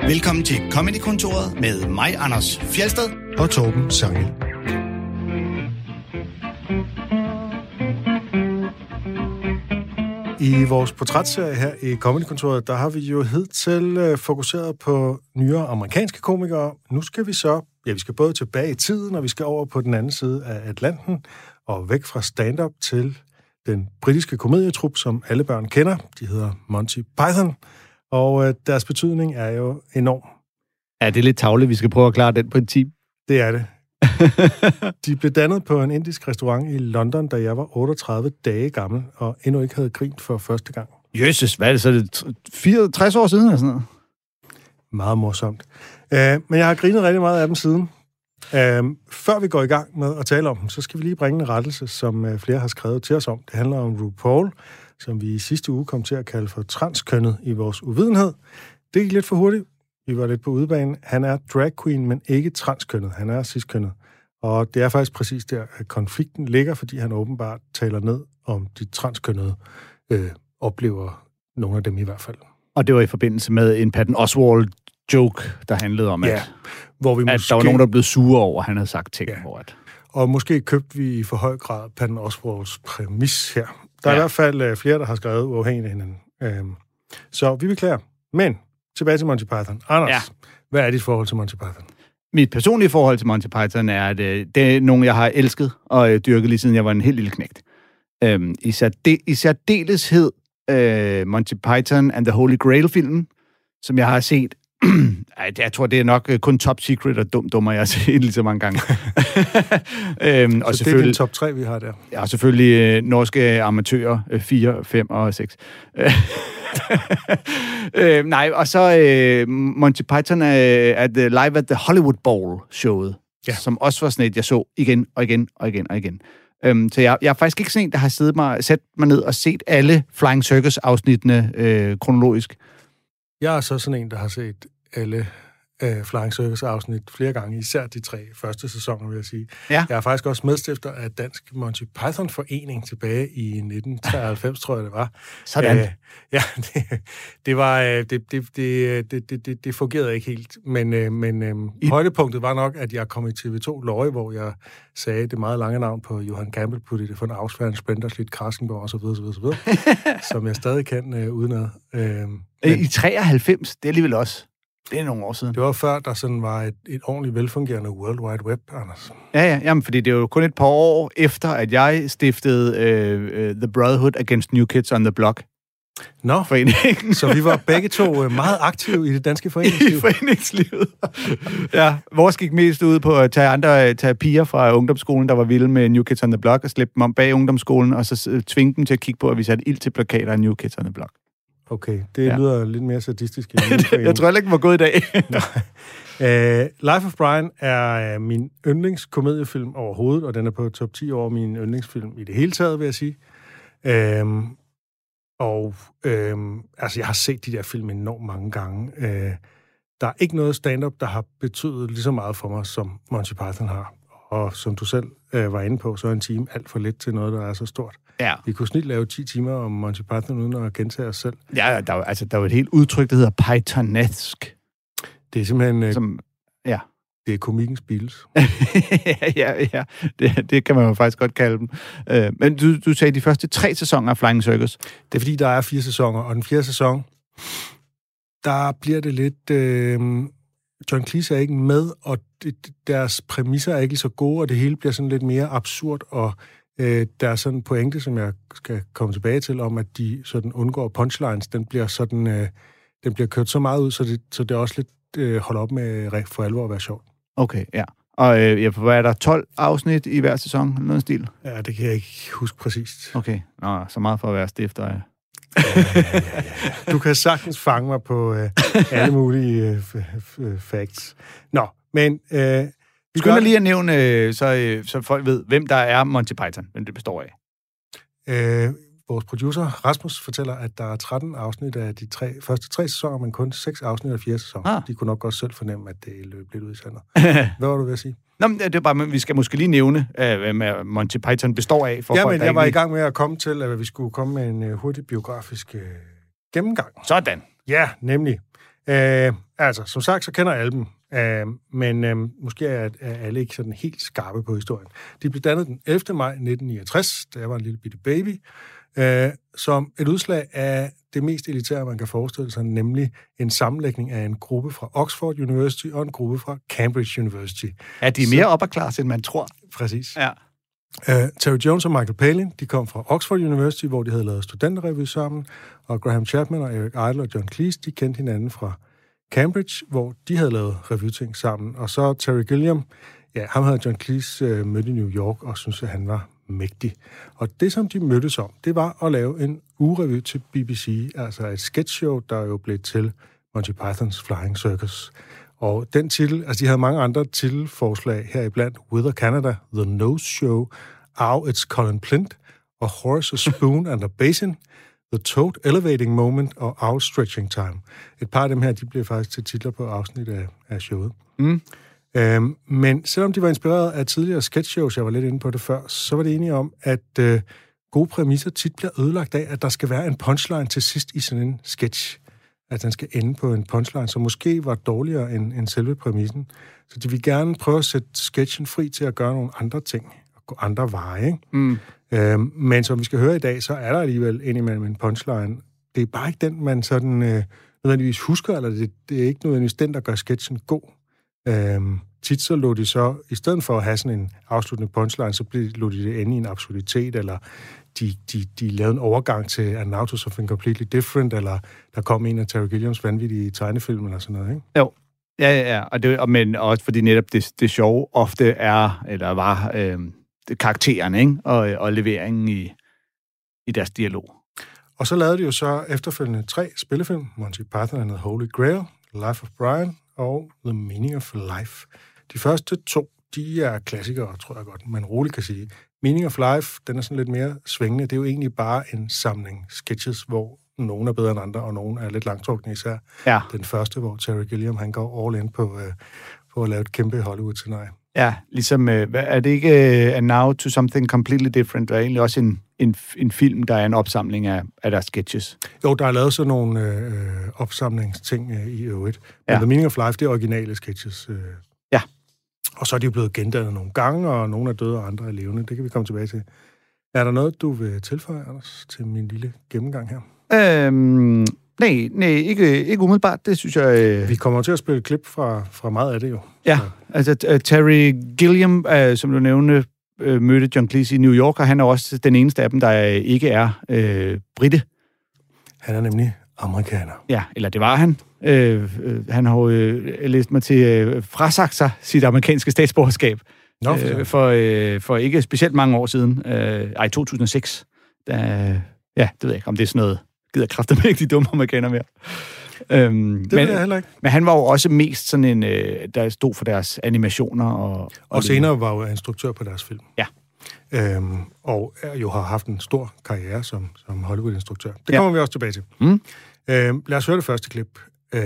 Velkommen til Comedy-kontoret med mig, Anders Fjeldsted og Torben Sangel. I vores portrætserie her i Comedy-kontoret, der har vi jo hidtil fokuseret på nyere amerikanske komikere. Nu skal vi vi skal både tilbage i tiden, og vi skal over på den anden side af Atlanten, og væk fra stand-up til den britiske komedietrup, som alle børn kender. De hedder Monty Python, og deres betydning er jo enorm. Ja, det er lidt tavligt, vi skal prøve at klare den princip. Det er det. De blev dannet på en indisk restaurant i London, da jeg var 38 dage gammel, og endnu ikke havde grint for første gang. Jesus, hvad er det så? Det 64 år siden eller sådan noget? Meget morsomt. Men jeg har grinet rigtig meget af dem siden. Før vi går i gang med at tale om dem, så skal vi lige bringe en rettelse, som flere har skrevet til os om. Det handler om RuPaul, som vi i sidste uge kom til at kalde for transkønnet i vores uvidenhed. Det gik lidt for hurtigt. Vi var lidt på udebane. Han er drag queen, men ikke transkønnet. Han er ciskønnet. Og det er faktisk præcis der, at konflikten ligger, fordi han åbenbart taler ned om de transkønnede oplever nogle af dem i hvert fald. Og det var i forbindelse med en Patton Oswalt-joke, der handlede om, at hvor vi der var nogen, der blev sure over, at han havde sagt ting. Ja. Hvor Og måske købte vi i for høj grad Patton Oswalts præmis her. Der er i hvert fald flere, der har skrevet uafhængigt af hinanden. Så vi beklager. Men tilbage til Monty Python. Anders, hvad er dit forhold til Monty Python? Mit personlige forhold til Monty Python er, at det er nogen, jeg har elsket og dyrket lige siden jeg var en helt lille knægt. I særdeleshed Monty Python and the Holy Grail-filmen, som jeg har set. Jeg tror, det er nok kun Top Secret og Dummer, jeg har set lige så mange gange. Og så det er den top 3, vi har der. Ja, og selvfølgelig norske amatører, 4, 5 og 6. Nej, og så Monty Python at Live at the Hollywood Bowl-showet, som også var sådan et, jeg så igen og igen og igen og igen. Så jeg er faktisk ikke sådan en, der har sat mig ned og set alle Flying Circus-afsnittene kronologisk. Jeg er så sådan en, der har set alle Flying Circus-afsnit flere gange, især de 3 første sæsoner, vil jeg sige. Ja. Jeg er faktisk også medstifter af Dansk Monty Python-forening tilbage i 1993, tror jeg, det var. Sådan. Det fungerede ikke helt, men højdepunktet var nok, at jeg kom i TV2 Løje, hvor jeg sagde det meget lange navn på Johan Campbell, på det for en afsværende Splenderslit, Krassenborg og så videre, som jeg stadig kan udenad. I 93, det er alligevel også. Det er nogle år siden. Det var før, der sådan var et ordentligt velfungerende World Wide Web, Anders. Ja, jamen, fordi det er jo kun et par år efter, at jeg stiftede The Brotherhood Against New Kids on the Block. Nå, så vi var begge to meget aktive i det danske foreningsliv. I foreningslivet. Ja, vores gik mest ud på at tage piger fra ungdomsskolen, der var vilde med New Kids on the Block, og slippe dem om bag ungdomsskolen, og så tvinge dem til at kigge på, at vi satte ild til plakater af New Kids on the Block. Okay, det lyder lidt mere sadistisk. Jeg tror heller ikke, den var god i dag. Life of Brian er min yndlingskomediefilm overhovedet, og den er på top 10 over min yndlingsfilm i det hele taget, vil jeg sige. Jeg har set de der film enormt mange gange. Der er ikke noget stand-up, der har betydet lige så meget for mig, som Monty Python har. Og som du selv var inde på, så er en time alt for lidt til noget, der er så stort. Ja. Vi kunne snit lave 10 timer om Monty Python, uden at gentage os selv. Ja, der er jo et helt udtryk, der hedder Pythonesk. Det er simpelthen... Det er komikkens Beatles. ja. Det kan man jo faktisk godt kalde dem. Men du sagde de første 3 sæsoner af Flying Circus. Det er fordi, der er 4 sæsoner, og den 4. sæson, der bliver det lidt... John Cleese er ikke med, og deres præmisser er ikke så gode, og det hele bliver sådan lidt mere absurd, og der er sådan en pointe, som jeg skal komme tilbage til, om at de sådan undgår punchlines. Den bliver kørt så meget ud, så det er også lidt holder op med for alvor at være sjovt. Okay, ja. Og hvad er der 12 afsnit i hver sæson? Noget stil? Ja, det kan jeg ikke huske præcist. Okay, så meget for at være stifter af. Ja. Du kan sagtens fange mig på alle mulige facts. Nå, men... Vi skal lige at nævne, så folk ved, hvem der er Monty Python, hvem det består af. Vores producer, Rasmus, fortæller, at der er 13 afsnit af de første 3 sæsoner, men kun 6 afsnit af 4 sæsoner. De kunne nok godt selv fornemme, at det løb lidt ud i sandet. Hvad var du ved at sige? Nå, men det er bare, vi skal måske lige nævne, hvad Monty Python består af. Men jeg var i gang med at komme til, at vi skulle komme med en hurtig biografisk gennemgang. Sådan. Ja, nemlig. Altså, som sagt, så kender alle dem. Men måske er alle ikke sådan helt skarpe på historien. De blev dannet den 11. maj 1969, da jeg var en lille bitte baby, som et udslag af det mest elitære, man kan forestille sig, nemlig en sammenlægning af en gruppe fra Oxford University og en gruppe fra Cambridge University. Er de mere upper class, end man tror? Præcis. Ja. Terry Jones og Michael Palin, de kom fra Oxford University, hvor de havde lavet studenterrevy sammen, og Graham Chapman og Eric Idle og John Cleese, de kendte hinanden fra Cambridge, hvor de havde lavet revyting sammen. Og så Terry Gilliam, ja, ham havde John Cleese mødt i New York og syntes, at han var mægtig. Og det, som de mødtes om, det var at lave en ugerevy til BBC, altså et sketchshow, der jo blev til Monty Python's Flying Circus. Og den titel, altså de havde mange andre titelforslag heriblandt, Weather Canada, The Nose Show, Ow, It's Colin Plint, og Horace, A Spoon and a Basin, The Toad Elevating Moment og Owl Stretching Time. Et par af dem her, de blev faktisk til titler på afsnit af showet. Men selvom de var inspireret af tidligere sketchshows, jeg var lidt inde på det før, så var det enige om, at gode præmisser tit bliver ødelagt af, at der skal være en punchline til sidst i sådan en sketch. At den skal ende på en punchline, som måske var dårligere end selve præmissen. Så de vil gerne prøve at sætte sketchen fri til at gøre nogle andre ting, og gå andre veje, ikke? Men som vi skal høre i dag, så er der alligevel indimellem en punchline. Det er bare ikke den, man sådan nødvendigvis husker, eller det er ikke nødvendigvis den, der gør sketchen god. Tit så lå de så, i stedet for at have sådan en afsluttende punchline, så lå de det ende i en absurditet, eller de lavede en overgang til An Now to Something Completely Different, eller der kom en af Terry Gilliams vanvittige tegnefilm, eller sådan noget, ikke? Jo. Ja. Men også fordi netop det sjove ofte er, eller var karakteren, ikke? Og leveringen i deres dialog. Og så lavede de jo så efterfølgende 3 spillefilm, Monty Python and the Holy Grail, Life of Brian og The Meaning of Life. De første 2, de er klassikere, tror jeg godt, man roligt kan sige. Meaning of Life, den er sådan lidt mere svingende. Det er jo egentlig bare en samling sketches, hvor nogle er bedre end andre, og nogle er lidt langtrukne især. Ja. Den første, hvor Terry Gilliam, han går all in på at lave et kæmpe Hollywood-scenarie. Ja, ligesom, er det ikke A Now to Something Completely Different? Der er egentlig også en film, der er en opsamling af deres sketches. Jo, der er lavet sådan nogle opsamlingsting i øvrigt. Men The Meaning of Life, det er originale sketches. Ja. Og så er de jo blevet gendannet nogle gange, og nogle er døde, og andre er levende. Det kan vi komme tilbage til. Er der noget, du vil tilføje, Anders, til min lille gennemgang her? Nej, ikke umiddelbart. Det synes jeg... Vi kommer til at spille et klip fra meget af det jo. Ja, altså Terry Gilliam, som du nævnte, mødte John Cleese i New York, og han er også den eneste af dem, der ikke er brite. Han er nemlig amerikaner. Ja, eller det var han. Han har jo læst mig til frasagt sig sit amerikanske statsborgerskab. For ikke specielt mange år siden. 2006. Det ved jeg ikke, om det er sådan noget... gider kræfter med ikke de dumme amerikanere mere. Det ved jeg heller ikke. Men han var jo også mest sådan en, der stod for deres animationer. Og senere var jo instruktør på deres film. Ja. Og jo har haft en stor karriere som Hollywood-instruktør. Det kommer vi også tilbage til. Lad os høre det første klip.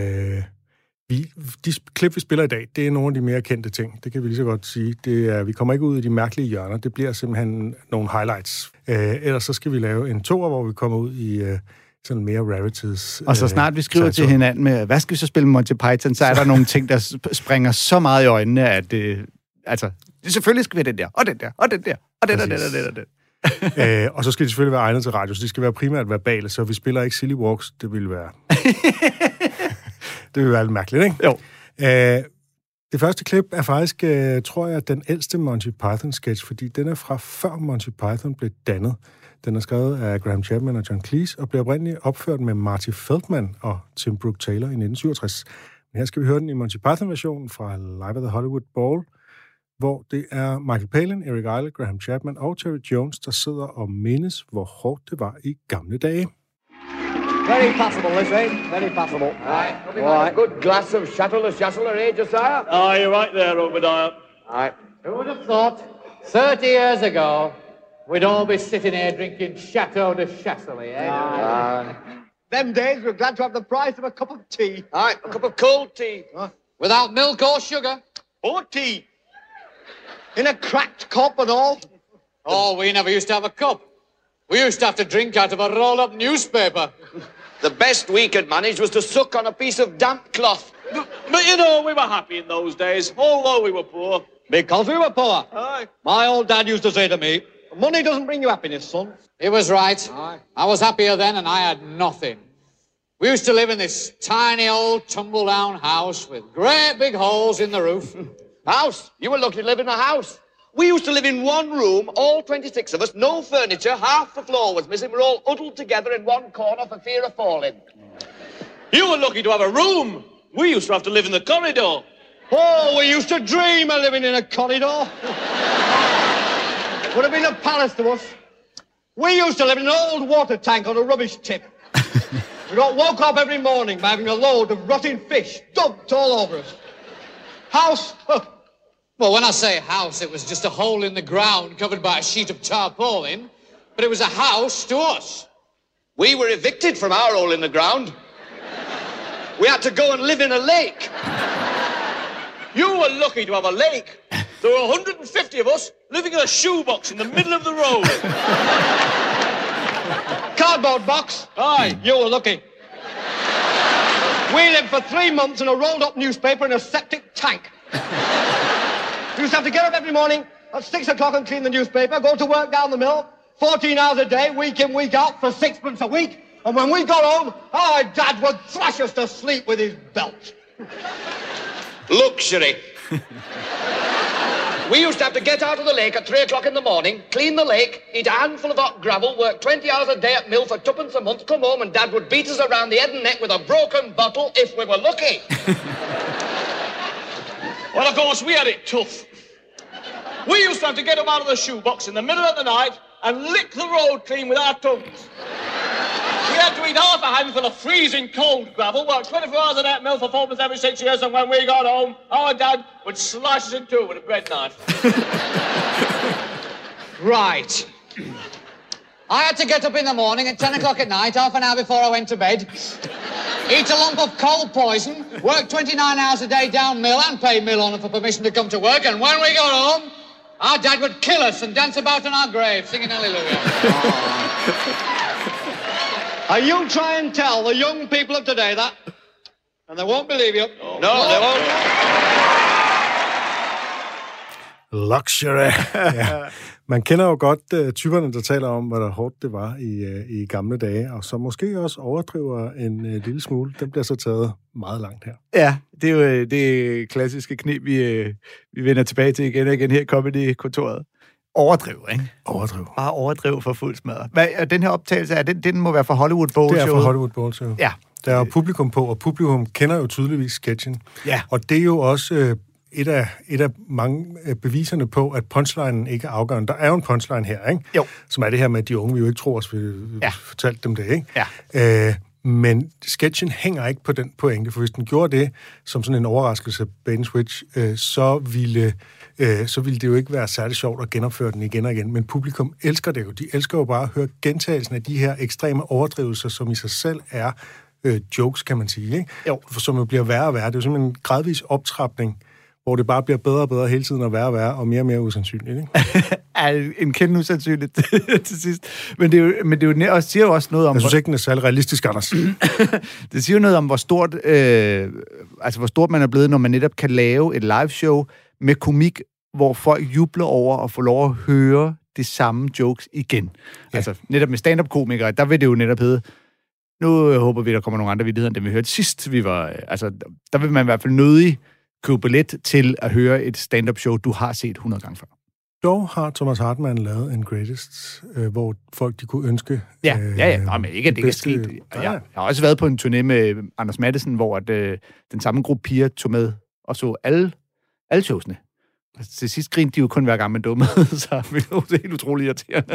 De klip, vi spiller i dag, det er nogle af de mere kendte ting. Det kan vi lige så godt sige. Vi kommer ikke ud i de mærkelige hjørner. Det bliver simpelthen nogle highlights. Ellers så skal vi lave en toer, hvor vi kommer ud i sådan mere rarities. Og så snart vi skriver til hinanden med, hvad skal vi så spille med Monty Python, så er der nogle ting, der springer så meget i øjnene, at selvfølgelig skal vi have den der, og den der, og den der, og den der. Og så skal de selvfølgelig være egnet til radio, så de skal være primært verbale, så vi spiller ikke Silly Walks. Det ville være... Det vil være lidt mærkeligt, ikke? Jo. Det første klip er faktisk, tror jeg, den ældste Monty Python-sketch, fordi den er fra før Monty Python blev dannet. Den er skrevet af Graham Chapman og John Cleese, og blev oprindeligt opført med Marty Feldman og Tim Brooke Taylor i 1967. Men her skal vi høre den i Monty Python-versionen fra Live at the Hollywood Bowl, hvor det er Michael Palin, Eric Idle, Graham Chapman og Terry Jones, der sidder og mindes, hvor hårdt det var i gamle dage. Very possible, this, eh? Very possible. Aye. A good glass of Chateau Le Chasseur, eh, Josiah? Oh, you're right there, Obadiah. Aye. Who would have thought 30 years ago we'd all be sitting here drinking Chateau de Chasselet, eh? Them days we're glad to have the price of a cup of tea. Aye, a cup of cold tea. Without milk or sugar. Or tea. In a cracked cup and all. Oh, we never used to have a cup. We used to have to drink out of a roll-up newspaper. The best we could manage was to suck on a piece of damp cloth. But you know, we were happy in those days, although we were poor. Because we were poor. Aye. My old dad used to say to me, money doesn't bring you happiness, son. He was right. Aye. I was happier then and I had nothing. We used to live in this tiny old tumble-down house with great big holes in the roof. House? You were lucky to live in a house. We used to live in one room, all 26 of us, no furniture, half the floor was missing. We're all huddled together in one corner for fear of falling. You were lucky to have a room. We used to have to live in the corridor. Oh, we used to dream of living in a corridor. Would have been a palace to us. We used to live in an old water tank on a rubbish tip. We got woke up every morning by having a load of rotting fish dumped all over us. House? Well, when I say house, it was just a hole in the ground covered by a sheet of tarpaulin, but it was a house to us. We were evicted from our hole in the ground. We had to go and live in a lake. You were lucky to have a lake. There were 150 of us living in a shoebox in the middle of the road. Cardboard box? Aye. You were lucky. We lived for 3 months in a rolled-up newspaper in a septic tank. We used to have to get up every morning at 6 o'clock and clean the newspaper, go to work down the mill, 14 hours a day, week in, week out, for 6 a week. And when we got home, our dad would thrash us to sleep with his belt. Luxury. We used to have to get out of the lake at 3 o'clock in the morning, clean the lake, eat a handful of hot gravel, work 20 hours a day at mill for 2pence a month, come home and Dad would beat us around the head and neck with a broken bottle if we were lucky. Well, of course, we had it tough. We used to have to get up out of the shoebox in the middle of the night and lick the road clean with our tongues. We had to eat half a handful of freezing cold gravel, work 24 hours a day at mill for 4 months every 6 years, and when we got home, our dad would slice us in two with a bread knife. Right. I had to get up in the morning at 10 o'clock at night, half an hour before I went to bed, eat a lump of cold poison, work 29 hours a day down mill and pay mill owner for permission to come to work, and when we got home, our dad would kill us and dance about in our grave, singing hallelujah. And you try and tell the young people of today that, and they won't believe you. No, they won't. Luxury. Ja. Man kender jo godt typerne, der taler om, hvor hårdt det var i gamle dage, og så måske også overdriver en lille smule. Den bliver så taget meget langt her. Ja, det er jo det klassiske knep, vi vender tilbage til igen og igen her i Comedy-kontoret. Overdriv, ikke? Overdriv. Bare overdriv for fuld smadret. Den her optagelse, den må være fra Hollywood Bowl Show. Det er fra Hollywood Bowl Show. Ja. Der er jo publikum på, og publikum kender jo tydeligvis sketchen. Ja. Og det er jo også et af mange beviserne på, at punchlinen ikke er afgørende. Der er jo en punchline her, ikke? Jo. Som er det her med, at de unge vi jo ikke tror os, vi fortalte dem det, ikke? Ja. Men sketchen hænger ikke på den pointe, for hvis den gjorde det som sådan en overraskelse, bait and switch, så ville det jo ikke være særlig sjovt at genopføre den igen og igen. Men publikum elsker det jo. De elsker jo bare at høre gentagelsen af de her ekstreme overdrivelser, som i sig selv er jokes, kan man sige, ikke? Jo. Som jo bliver værre og værre. Det er jo simpelthen en gradvis optrapning, hvor det bare bliver bedre og bedre hele tiden, og værre og værre, og mere usandsynligt, ikke? En kende usandsynligt til sidst. Men det er jo også, siger jo også noget om... Jeg synes ikke, den er særlig realistisk, Anders. Det siger jo noget om, hvor stort man er blevet, når man netop kan lave et liveshow med komik, hvor folk jubler over at få lov at høre de samme jokes igen. Ja. Altså, netop med stand-up-komikere, der vil det jo netop hedde, nu håber vi, der kommer nogle andre vittigheder, end dem vi hørte sidst. Der vil man i hvert fald nødig købe billet til at høre et stand-up-show, du har set 100 gange før. Dog har Thomas Hartmann lavet en greatest, hvor folk de kunne ønske... Ja. Nå, men ikke, at det ikke er sket. Jeg har også været på en turné med Anders Matthesen, hvor den samme gruppe piger tog med og så alle showsene. Til sidst grinte de jo kun hver gang man dummede, så det var helt utroligt irriterende.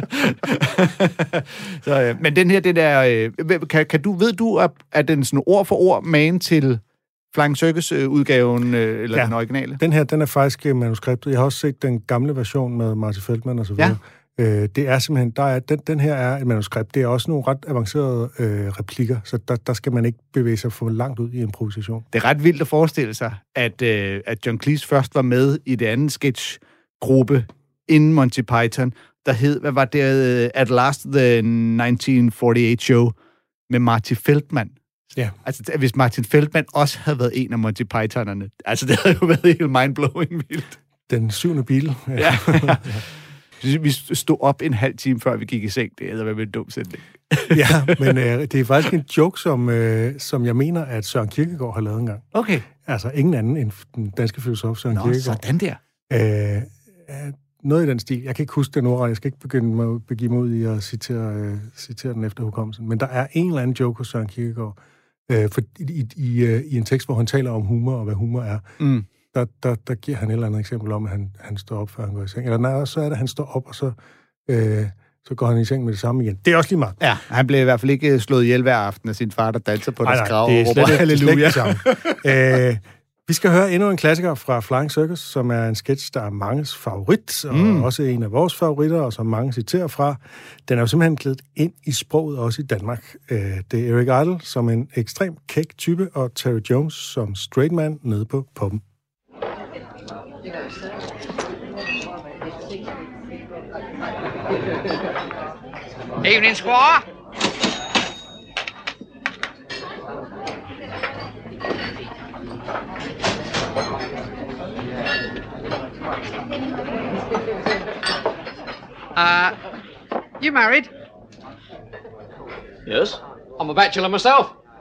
Men den her, ved du, at den sådan ord for ord man til Flying Circus-udgaven, eller den originale? Den her, den er faktisk manuskriptet. Jeg har også set den gamle version med Marty Feldman og så videre. Ja. Det er simpelthen, den her er et manuskript. Det er også nogle ret avancerede replikker, så der skal man ikke bevæge sig for langt ud i improvisation. Det er ret vildt at forestille sig, at John Cleese først var med i det andet sketchgruppe inden Monty Python, der hed, hvad var det, At Last, the 1948 Show, med Marty Feldman. Ja. Altså, hvis Martin Feldman også havde været en af Monty Pythonerne, altså, det havde jo været helt mindblowing vildt. Den 7. bil. Ja. Vi stod op en halv time, før vi gik i seng. Det havde været en dum sætning. Ja, men det er faktisk en joke, som jeg mener, at Søren Kierkegaard har lavet engang. Okay. Altså, ingen anden end den danske filosof Søren Kierkegaard. Sådan der. Noget i den stil. Jeg kan ikke huske den ordret. Jeg skal ikke begive mig ud i at citere den efter hukommelsen. Men der er en eller anden joke hos Søren Kierkegaard i en tekst, hvor han taler om humor og hvad humor er. Mm. Der giver han et eller andet eksempel om, at han står op, før han går i seng. Eller nej, så er det, at han står op, og så går han i seng med det samme igen. Det er også lige meget. Ja, han blev i hvert fald ikke slået ihjel hver aften af sin far, der danser på deres grav. Det er slet ikke det samme. Vi skal høre endnu en klassiker fra Flying Circus, som er en sketch, der er manges favorit, og også en af vores favoritter, og som mange citerer fra. Den er jo simpelthen klædt ind i sproget, også i Danmark. Det er Eric Idle som en ekstrem kæk type, og Terry Jones som straight man nede på poppen. Evening, Squire. You married? Yes? I'm a bachelor myself.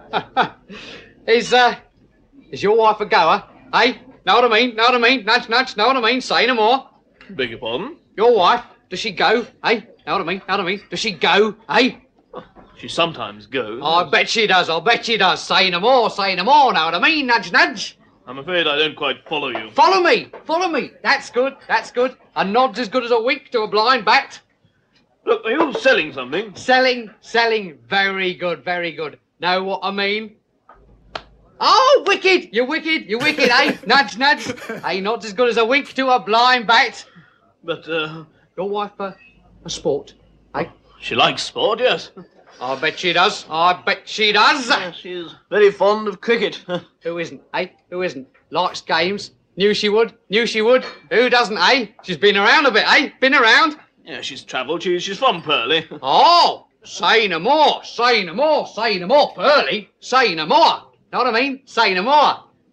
Is your wife a goer? Hey, know what I mean? Know what I mean? Nudge, nudge, know what I mean? Say no more. Beg your pardon? Your wife, does she go? Hey, know what I mean? Know what I mean? Does she go? Hey? She sometimes goes. I bet she does, I'll bet she does. Say no more, know what I mean? Nudge, nudge. I'm afraid I don't quite follow you. Follow me. That's good. A nod's as good as a wink to a blind bat. Look, are you selling something? Selling. Very good. Know what I mean? Oh, wicked! You're wicked, eh? Nudge, nudge. Hey, not as good as a wink to a blind bat. But, Your wife, a sport, eh? She likes sport, yes. I bet she does. Yeah, she's very fond of cricket. Who isn't, eh? Who isn't? Likes games. Knew she would. Who doesn't, eh? She's been around a bit, eh? Been around. Yeah, she's travelled. She's from Purley. Oh, say no more, Pearly. Say no more. Know what I mean? Say no more.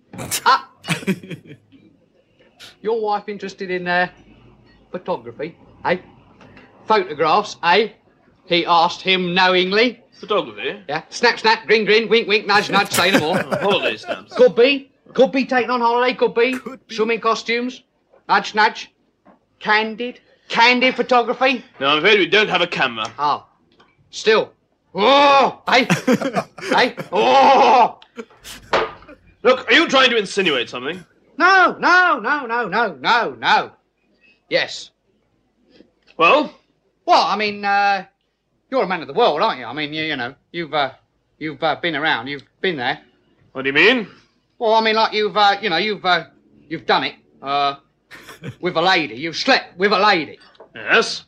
Your wife interested in photography, eh? Photographs, eh? He asked him knowingly. Photography? Yeah. Snap, snap, grin, grin, wink, wink, nudge, nudge, say no more. Holiday stamps. Could be taken on holiday, could be. Swimming costumes, nudge, nudge. Candid photography. No, I'm afraid we don't have a camera. Oh, still. Oh, hey, hey, oh. Look, are you trying to insinuate something? No. Yes. Well? Well, I mean, you're a man of the world, aren't you? I mean, you know, you've been around, you've been there. What do you mean? Well, I mean, like you've done it, with a lady. You've slept with a lady. Yes.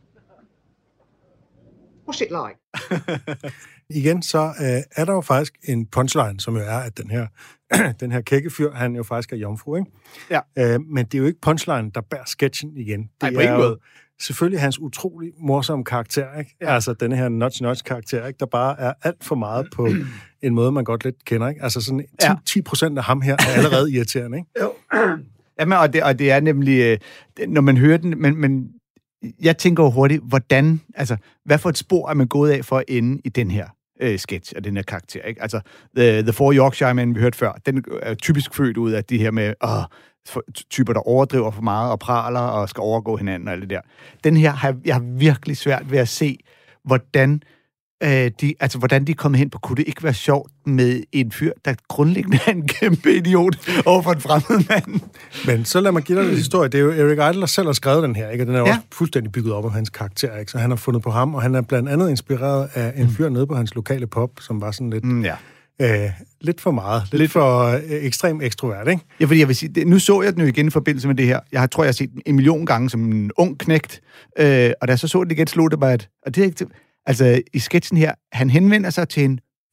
What's it like? Igen, så er der jo faktisk en punchline, som jo er, at den her kækkefyr, han jo faktisk er jomfru, ikke? Ja. Men det er jo ikke punchline, der bærer sketchen igen. Det på ingen måde. Selvfølgelig hans utrolig morsomme karakter, ikke? Ja. Altså den her notch-karakter, ikke? Der bare er alt for meget på en måde, man godt lidt kender, ikke? Altså sådan 10% af ham her er allerede irriterende, ikke? Jo. Jamen, og det er nemlig, når man hører den, men jeg tænker jo hurtigt, hvad for et spor er man gået af for at ende i den her sketch og den her karakter, ikke? Altså, The Four Yorkshiremen, vi hørte før, den er typisk født ud af de her med typer, der overdriver for meget og praler og skal overgå hinanden og alt det der. Den her, jeg har virkelig svært ved at se, hvordan de er kommet hen på, kunne det ikke være sjovt med en fyr, der grundlæggende er en kæmpe idiot overfor en fremmed mand. Men så lad mig give dig en historie. Det er jo Eric Idle, der selv har skrevet den her, ikke? Og den er også fuldstændig bygget op af hans karakter, ikke? Så han har fundet på ham, og han er blandt andet inspireret af en fyr nede på hans lokale pub, som var sådan lidt... lidt for meget. Lidt for ekstremt ekstrovert, ikke? Ja, fordi jeg vil sige, nu så jeg den jo igen i forbindelse med det her. Jeg tror, jeg har set den 1 million gange som en ung knægt, og da jeg så den igen, slog det bare, og det er ikke... Altså, i sketchen her, han henvender sig til en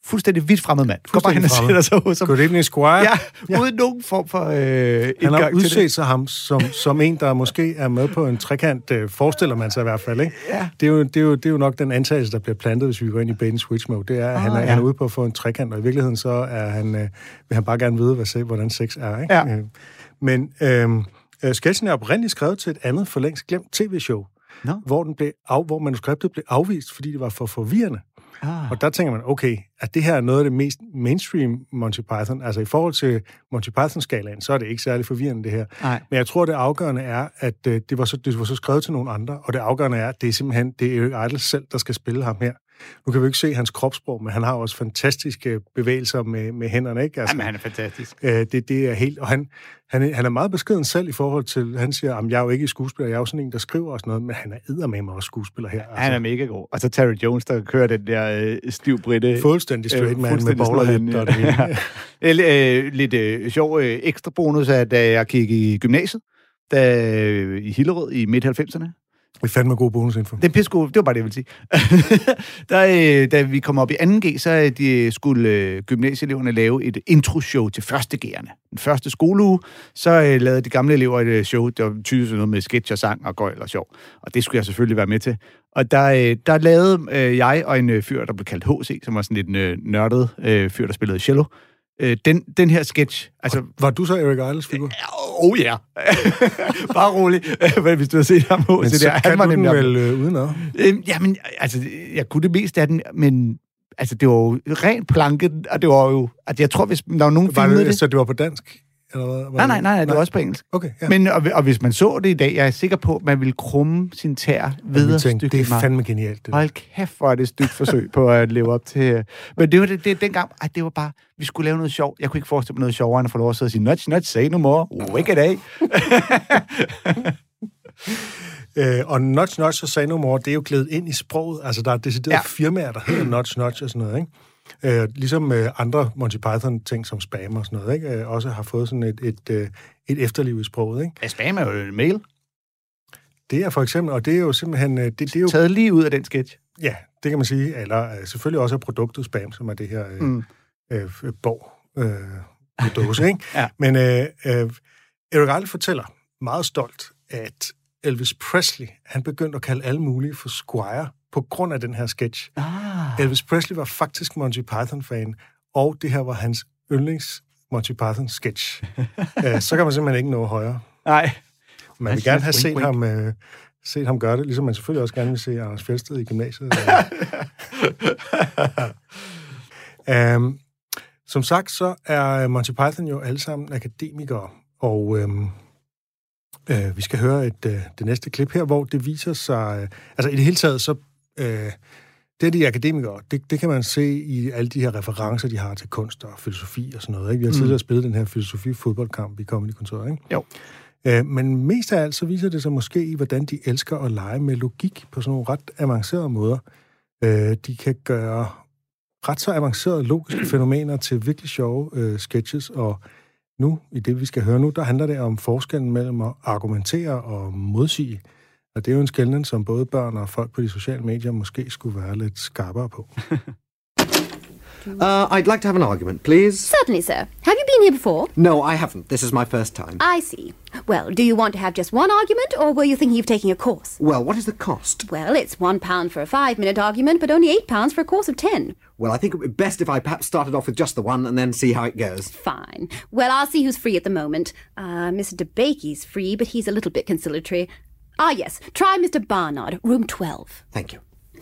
fuldstændig vidt fremmed mand. Går bare hen og sætter sig hos ham. Good evening, Squire. Ja, uden nogen form for Han har udset sig ham som en, der måske er med på en trekant, forestiller man sig i hvert fald, ikke? Ja. Det er jo nok den antagelse, der bliver plantet, hvis vi går ind i bait and switch mode. Det er, at han er ude på at få en trekant, og i virkeligheden så er vil han bare gerne vide, hvordan sex er, ikke? Ja. Men sketchen er oprindeligt skrevet til et andet for længst glemt tv-show, hvor manuskriptet blev afvist, fordi det var for forvirrende. Og der tænker man, okay, at det her er noget af det mest mainstream Monty Python. Altså i forhold til Monty Python-skalaen, så er det ikke særlig forvirrende, det her. Nej. Men jeg tror, det afgørende er, at det var så skrevet til nogle andre, og det afgørende er, at det er simpelthen Eric Idle selv, der skal spille ham her. Nu kan vi ikke se hans kropssprog, men han har også fantastiske bevægelser med hænderne, ikke? Altså, jamen, han er fantastisk. Det er helt... Og han er meget beskeden selv i forhold til... Han siger, at jeg er jo ikke skuespiller, jeg er jo sådan en, der skriver også noget, men han er eddermame også skuespiller her. Altså. Han er mega god. Og så Terry Jones, der kører den der stiv britte... Fuldstændig straight man med bowlerhat og det hele. Lidt sjov ekstra bonus er, da jeg kiggede i gymnasiet, i Hillerød i midt-90'erne. Vi fandt med god bonusinfo. Det er pissegod. Det var bare det, jeg ville sige. Da vi kom op i 2G, så skulle gymnasieeleverne lave et intro-show til førstegærende. Den første skoleuge, så lavede de gamle elever et show, der var tydeligt noget med sketch og sang og gøjl og sjov. Og det skulle jeg selvfølgelig være med til. Og der lavede jeg og en fyr, der blev kaldt H.C., som var sådan lidt nørdet fyr, der spillede cello. Den her sketch... Altså, var du så Eric Idles figur? Oh ja. Bare rolig. Hvis du har set ham men så der, kan du den vel udenad? Jamen, altså, jeg kunne det mest af den, men altså, det var jo ren planke, og det var jo... Altså, jeg tror, hvis der var nogen filmede det... Så det var på dansk? Eller Nej, det var også på engelsk. Okay, ja. Men, og hvis man så det i dag, jeg er sikker på, at man ville krumme sin tær videre stykke. Det er fandme genialt. Det. Hold kæft, hvor er det et stygt forsøg på at leve op til... Men det var det dengang, det var bare, vi skulle lave noget sjov. Jeg kunne ikke forestille mig noget sjovere, end at få lov at sidde og sige, nudge, say no more, wake it af. Og nudge og say no more, det er jo klædet ind i sproget. Altså, der er deciderede firmaer, der hedder nudge og sådan noget, ikke? Ligesom andre Monty Python-ting som spam og sådan noget, ikke? Også har fået sådan et efterliv i sproget, ikke? Ja, spam er jo en mail. Det er for eksempel, og det er jo simpelthen... Det er jo taget lige ud af den sketch. Ja, det kan man sige. Eller selvfølgelig også af produktet spam, som er det her bog på dåse, ikke? Ja. Men Eric Idle fortæller meget stolt, at Elvis Presley, han begyndte at kalde alle mulige for Squire på grund af den her sketch. Elvis Presley var faktisk Monty Python-fan, og det her var hans yndlings Monty Python-sketch. Så kan man simpelthen ikke nå højere. Nej. Man vil gerne have set ham gøre det, ligesom man selvfølgelig også gerne vil se Anders Fjeldsted i gymnasiet. Som sagt, så er Monty Python jo alle sammen akademikere, og vi skal høre det næste klip her, hvor det viser sig... altså i det hele taget, så... det er de akademikere, det kan man se i alle de her referencer, de har til kunst og filosofi og sådan noget. Ikke? Vi har tidligere spillet den her filosofi-fodboldkamp i Comedy-kontoret, ikke? Jo. Men mest af alt, så viser det sig måske i, hvordan de elsker at lege med logik på sådan nogle ret avancerede måder. De kan gøre ret så avancerede logiske fænomener til virkelig sjove sketches, og nu, i det vi skal høre nu, der handler det om forskellen mellem at argumentere og modsige. Og det er jo en skelnen, som både børn og folk på de sociale medier måske skulle være lidt skarpere på. I'd like to have an argument, please. Certainly, sir. Have you been here before? No, I haven't. This is my first time. I see. Well, do you want to have just one argument, or were you thinking of taking a course? Well, what is the cost? Well, it's £1 for a 5-minute argument, but only £8 for a course of 10. Well, I think it would be best if I perhaps started off with just the one and then see how it goes. Fine. Well, I'll see who's free at the moment. Mr. DeBakey's free, but he's a little bit conciliatory. Yes. Try Mr. Barnard, room 12. Thank you.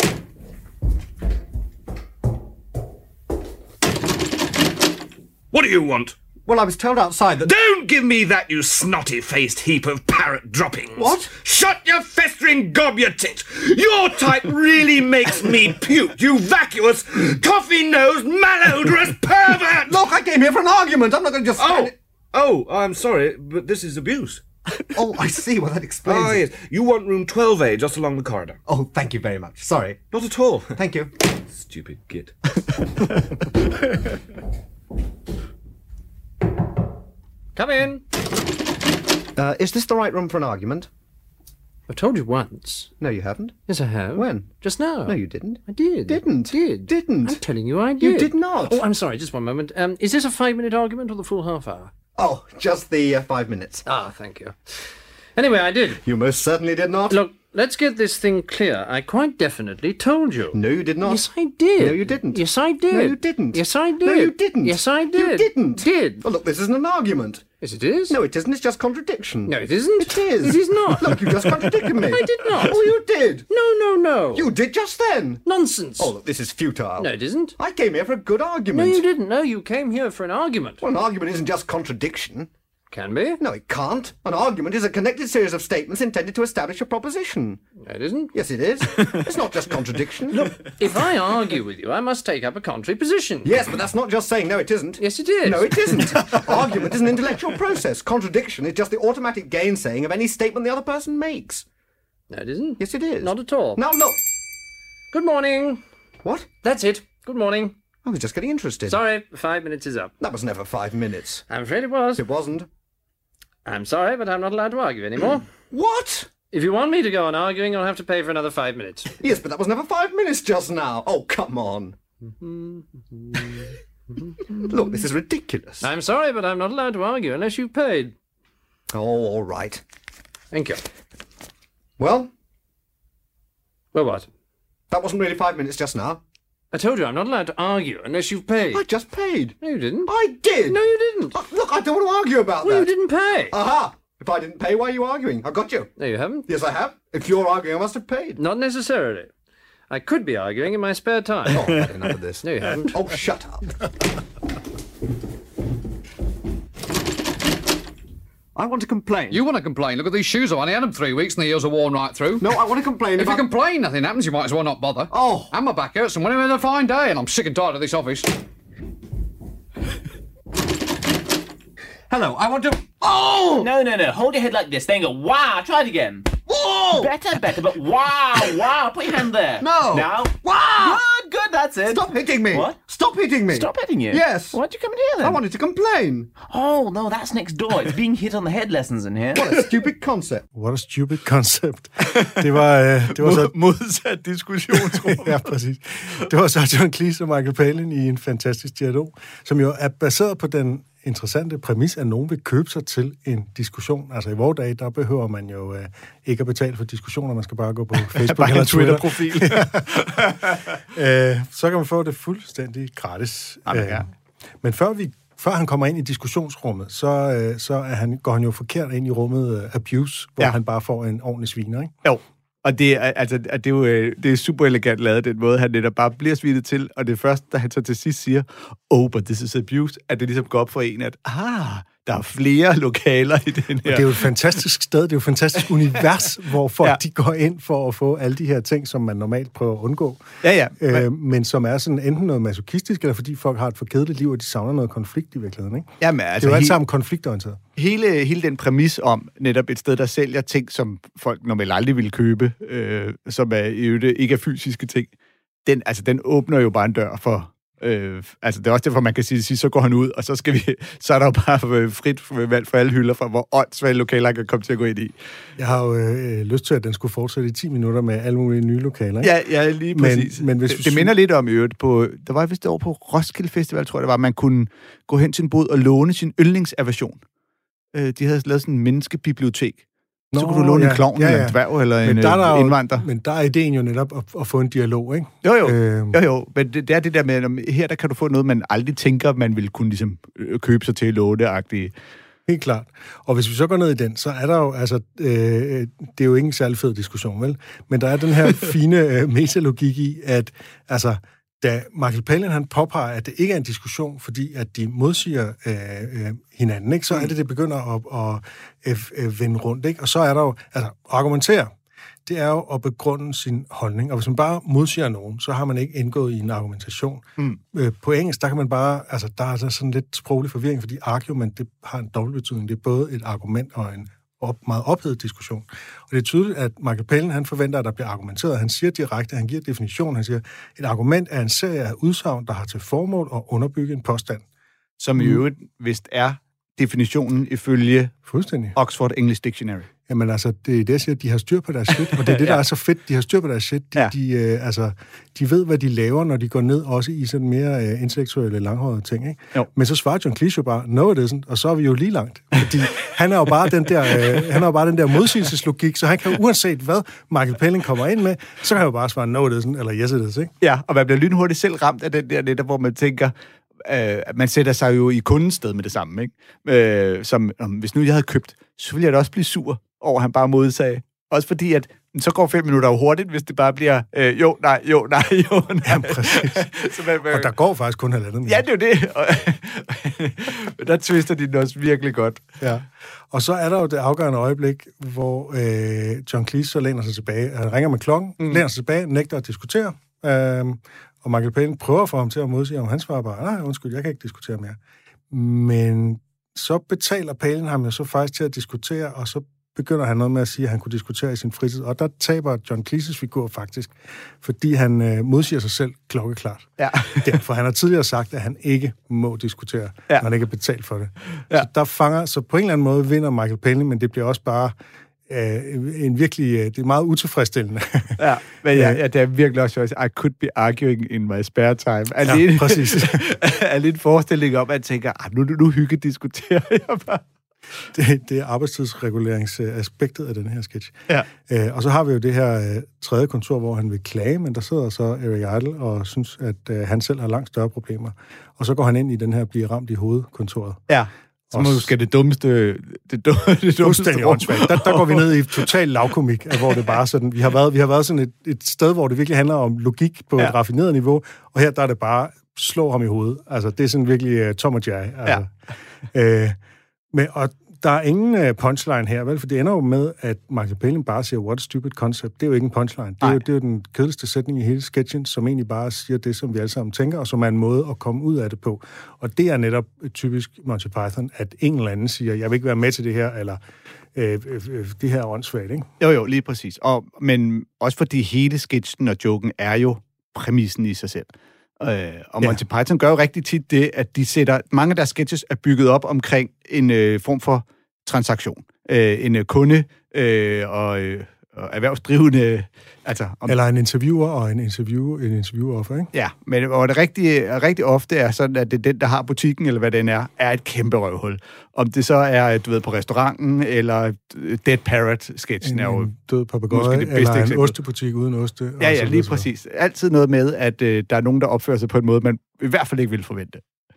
What do you want? Well, I was told outside that... Don't give me that, you snotty-faced heap of parrot droppings. What? Shut your festering gob, you tit. Your type really makes me puke, you vacuous, coffee-nosed, malodorous pervert! Look, I came here for an argument. I'm not going to just... Oh, I'm sorry, but this is abuse. Oh, I see. Well, that explains Ah, yes. You want room 12A, just along the corridor. Oh, thank you very much. Sorry. Not at all. Thank you. Stupid git. Come in. Is this the right room for an argument? I've told you once. No, you haven't. Yes, I have. When? Just now. No, you didn't. I did. Didn't. I'm telling you I did. You did not. Oh, I'm sorry, just one moment. Is this a 5-minute argument or the full half hour? Oh, just the 5 minutes. Ah, thank you. Anyway, I did. You most certainly did not. Look, let's get this thing clear. I quite definitely told you. No, you did not. Yes, I did. No, you didn't. Yes, I did. No, you didn't. Yes, I did. No, you didn't. Yes, I did. You didn't. Did. Oh, look, this isn't an argument. Yes, it is. No, it isn't. It's just contradiction. No, it isn't. It is. It is not. Look, you just contradicted me. I did not. Oh, you did. No. You did just then. Nonsense. Oh, look, this is futile. No, it isn't. I came here for a good argument. No, you didn't. No, you came here for an argument. Well, an argument isn't just contradiction. Can be. No, it can't. An argument is a connected series of statements intended to establish a proposition. No, it isn't. Yes, it is. It's not just contradiction. Look, if I argue with you, I must take up a contrary position. Yes, but that's not just saying no, it isn't. Yes, it is. No, it isn't. Argument is an intellectual process. Contradiction is just the automatic gainsaying of any statement the other person makes. No, it isn't. Yes, it is. Not at all. Now, look. Good morning. What? That's it. Good morning. I was just getting interested. Sorry, 5 minutes is up. That was never 5 minutes. I'm afraid it was. It wasn't. I'm sorry, but I'm not allowed to argue anymore. What? If you want me to go on arguing, you'll have to pay for another 5 minutes. Yes, but that was never 5 minutes just now. Oh, come on. Look, this is ridiculous. I'm sorry, but I'm not allowed to argue unless you've paid. Oh, all right. Thank you. Well? Well, what? That wasn't really 5 minutes just now. I told you I'm not allowed to argue unless you've paid. I just paid. No, you didn't. I did. No, you didn't. Look, I don't want to argue about Well, that. you didn't pay. Aha! If I didn't pay, why are you arguing? I got you. No, you haven't. Yes, I have. If you're arguing, I must have paid. Not necessarily. I could be arguing in my spare time. Oh, I've had enough of this. No, you haven't. Oh, shut up. I want to complain. You want to complain? Look at these shoes. I've only had them 3 weeks and the heels are worn right through. No, I want to complain If you complain, nothing happens. You might as well not bother. Oh. And my back hurts and when I'm a fine day and I'm sick and tired of this office. Hello, I want to... Oh! No. Hold your head like this. Then go, wow. Try it again. Whoa! Better, but wow. Put your hand there. No. Now. Wow! Good, that's it. Stop hitting me. What? Stop hitting me. Stop hitting you? Yes. Why'd you come in here then? I wanted to complain. Oh, no, that's next door. It's being hit on the head lessons in here. What a stupid concept. What a stupid concept. Det var så... Modsat diskussionsrum. Ja, præcis. Det var så John Cleese og Michael Palin i en fantastisk dialog, som jo er baseret på den interessante præmis, at nogen vil købe sig til en diskussion. Altså i vores dag, der behøver man jo ikke at betale for diskussioner, man skal bare gå på Facebook eller Twitter. Twitter-profil. Så kan man få det fuldstændig gratis. Ja. Men før han kommer ind i diskussionsrummet, så går han jo forkert ind i rummet abuse, hvor han bare får en ordentlig sviner, ikke? Jo. Og det er super elegant lavet, den måde, han netop bare bliver svinet til, og det første, da han så til sidst siger, but this is abuse, at det ligesom går op for en, at der er flere lokaler i den her. Og det er jo et fantastisk sted, det er jo et fantastisk univers, hvor folk de går ind for at få alle de her ting, som man normalt prøver at undgå. Ja. Men som er sådan enten noget masochistisk, eller fordi folk har et for kedeligt liv, og de savner noget konflikt i virkeligheden, ikke? Jamen, altså, det er jo alt sammen konfliktorienteret. Hele den præmis om netop et sted, der sælger ting, som folk normalt aldrig ville købe, som er ikke er fysiske ting, den åbner jo bare en dør for... det er også derfor, man kan sige, så går han ud, og så er der jo bare frit valg for alle hylder, for hvor åndssvage lokaler kan komme til at gå ind i. Jeg har jo lyst til, at den skulle fortsætte i 10 minutter med alle mulige nye lokaler. Ikke? Ja, lige præcis. Men hvis det minder lidt om øvrigt der var vist over på Roskilde Festival, tror jeg det var, man kunne gå hen til en bod og låne sin yndlingsaversion. De havde lavet sådan en menneskebibliotek. Så kunne du låne en klovn eller en dværg eller en indvandrer. Men der er ideen jo netop at få en dialog, ikke? Jo. Men det er det der med, her der kan du få noget, man aldrig tænker, man vil kunne ligesom købe sig til at låne-agtige. Helt klart. Og hvis vi så går ned i den, så er der jo, det er jo ikke en særlig fed diskussion, vel? Men der er den her fine metalogik i, at da Michael Palin han påpeger, at det ikke er en diskussion, fordi at de modsiger hinanden, ikke? Så er det begynder at vende rundt, ikke? Og så er der jo, argumentere, det er jo at begrunde sin holdning. Og hvis man bare modsiger nogen, så har man ikke indgået i en argumentation. På engelsk, der kan man bare, der er sådan lidt sproglig forvirring, fordi argument, det har en dobbeltbetydning. Det er både et argument og en meget ophedet diskussion. Og det er tydeligt, at Michael Palin, han forventer, at der bliver argumenteret. Han siger direkte, han giver definition, han siger, et argument er en serie af udsagn, der har til formål at underbygge en påstand. Som i øvrigt vist er definitionen ifølge fuldstændig Oxford English Dictionary. Jamen altså, det er det, jeg siger, de har styr på deres shit, og det er det, der er så fedt, de har styr på deres shit. De ved, hvad de laver, når de går ned, også i sådan mere intellektuelle, langhårede ting, ikke? Jo. Men så svarer John Cleese jo bare, no it isn't, og så er vi jo lige langt. Fordi han er jo bare den der, modsigelseslogik, så han kan uanset hvad Michael Palin kommer ind med, så kan han jo bare svare, no it isn't, eller yes it is, ikke? Ja, og man bliver lynhurtigt selv ramt af den der netop, hvor man tænker, man sætter sig jo i kundens sted med det samme, ikke? Hvis nu jeg havde købt, så ville jeg da også blive sur over, at han bare modsagde. Også fordi, at så går 5 minutter jo hurtigt, hvis det bare bliver jo, nej. Ja, præcis. Og der går faktisk kun 1,5 minut. Ja, det er jo det. Og der twister de den også virkelig godt. Ja. Og så er der jo det afgørende øjeblik, hvor John Cleese så læner sig tilbage. Han ringer med klokken, læner sig tilbage, nægter at diskutere. Og Michael Palin prøver for ham til at modsige, om han svarer bare, nej, undskyld, jeg kan ikke diskutere mere. Men så betaler Palin ham jo så faktisk til at diskutere, og så begynder han noget med at sige, at han kunne diskutere i sin fritid. Og der taber John Cleeses figur faktisk, fordi han modsiger sig selv klokkeklart. Ja. Derfor han har tidligere sagt, at han ikke må diskutere, når han ikke er betalt for det. Ja. Så på en eller anden måde vinder Michael Palin, men det bliver også bare det er meget utilfredsstillende. Ja, men det er virkelig også I could be arguing in my spare time. Ja, præcis. Er lidt forestilling om, at jeg tænker, nu hygge-diskuterer jeg bare. Det er arbejdstidsreguleringsaspektet af den her sketch. Ja. Og så har vi jo det her tredje kontor, hvor han vil klage, men der sidder så Eric Idle og synes, at han selv har langt større problemer. Og så går han ind i den her blive ramt i hovedkontoret. Ja. Så måske det dummeste fuldstændig åndssvagt. Der går vi ned i total lavkomik, hvor det bare sådan, vi har været sådan et sted, hvor det virkelig handler om logik på et raffineret niveau, og her der er det bare slå ham i hovedet. Altså, det er sådan virkelig Tom og Jerry. Altså. Ja. Og der er ingen punchline her, vel? For det ender jo med, at Michael Palin bare siger, what a stupid concept. Det er jo ikke en punchline. Det er jo den kedeligste sætning i hele sketchen, som egentlig bare siger det, som vi alle sammen tænker, og som er en måde at komme ud af det på. Og det er netop typisk Monty Python, at en eller anden siger, jeg vil ikke være med til det her, eller det her er åndssvagt, ikke? Jo, lige præcis. Men også fordi hele sketchen og joken er jo præmissen i sig selv. Og Monty Python gør jo rigtig tit det, at de sætter... Mange af deres sketches er bygget op omkring en form for transaktion. En kunde og erhvervsdrivende... Eller en interviewer og en interviewoffer, ikke? Ja, men hvor det rigtig ofte er sådan, at det er den, der har butikken, eller hvad den er et kæmpe røvhul. Om det så er, du ved, på restauranten, eller Dead Parrot-sketchen er jo... død papegøje, eller en ostebutik uden oste. Ja, lige præcis. Altid noget med, at der er nogen, der opfører sig på en måde, man i hvert fald ikke vil forvente.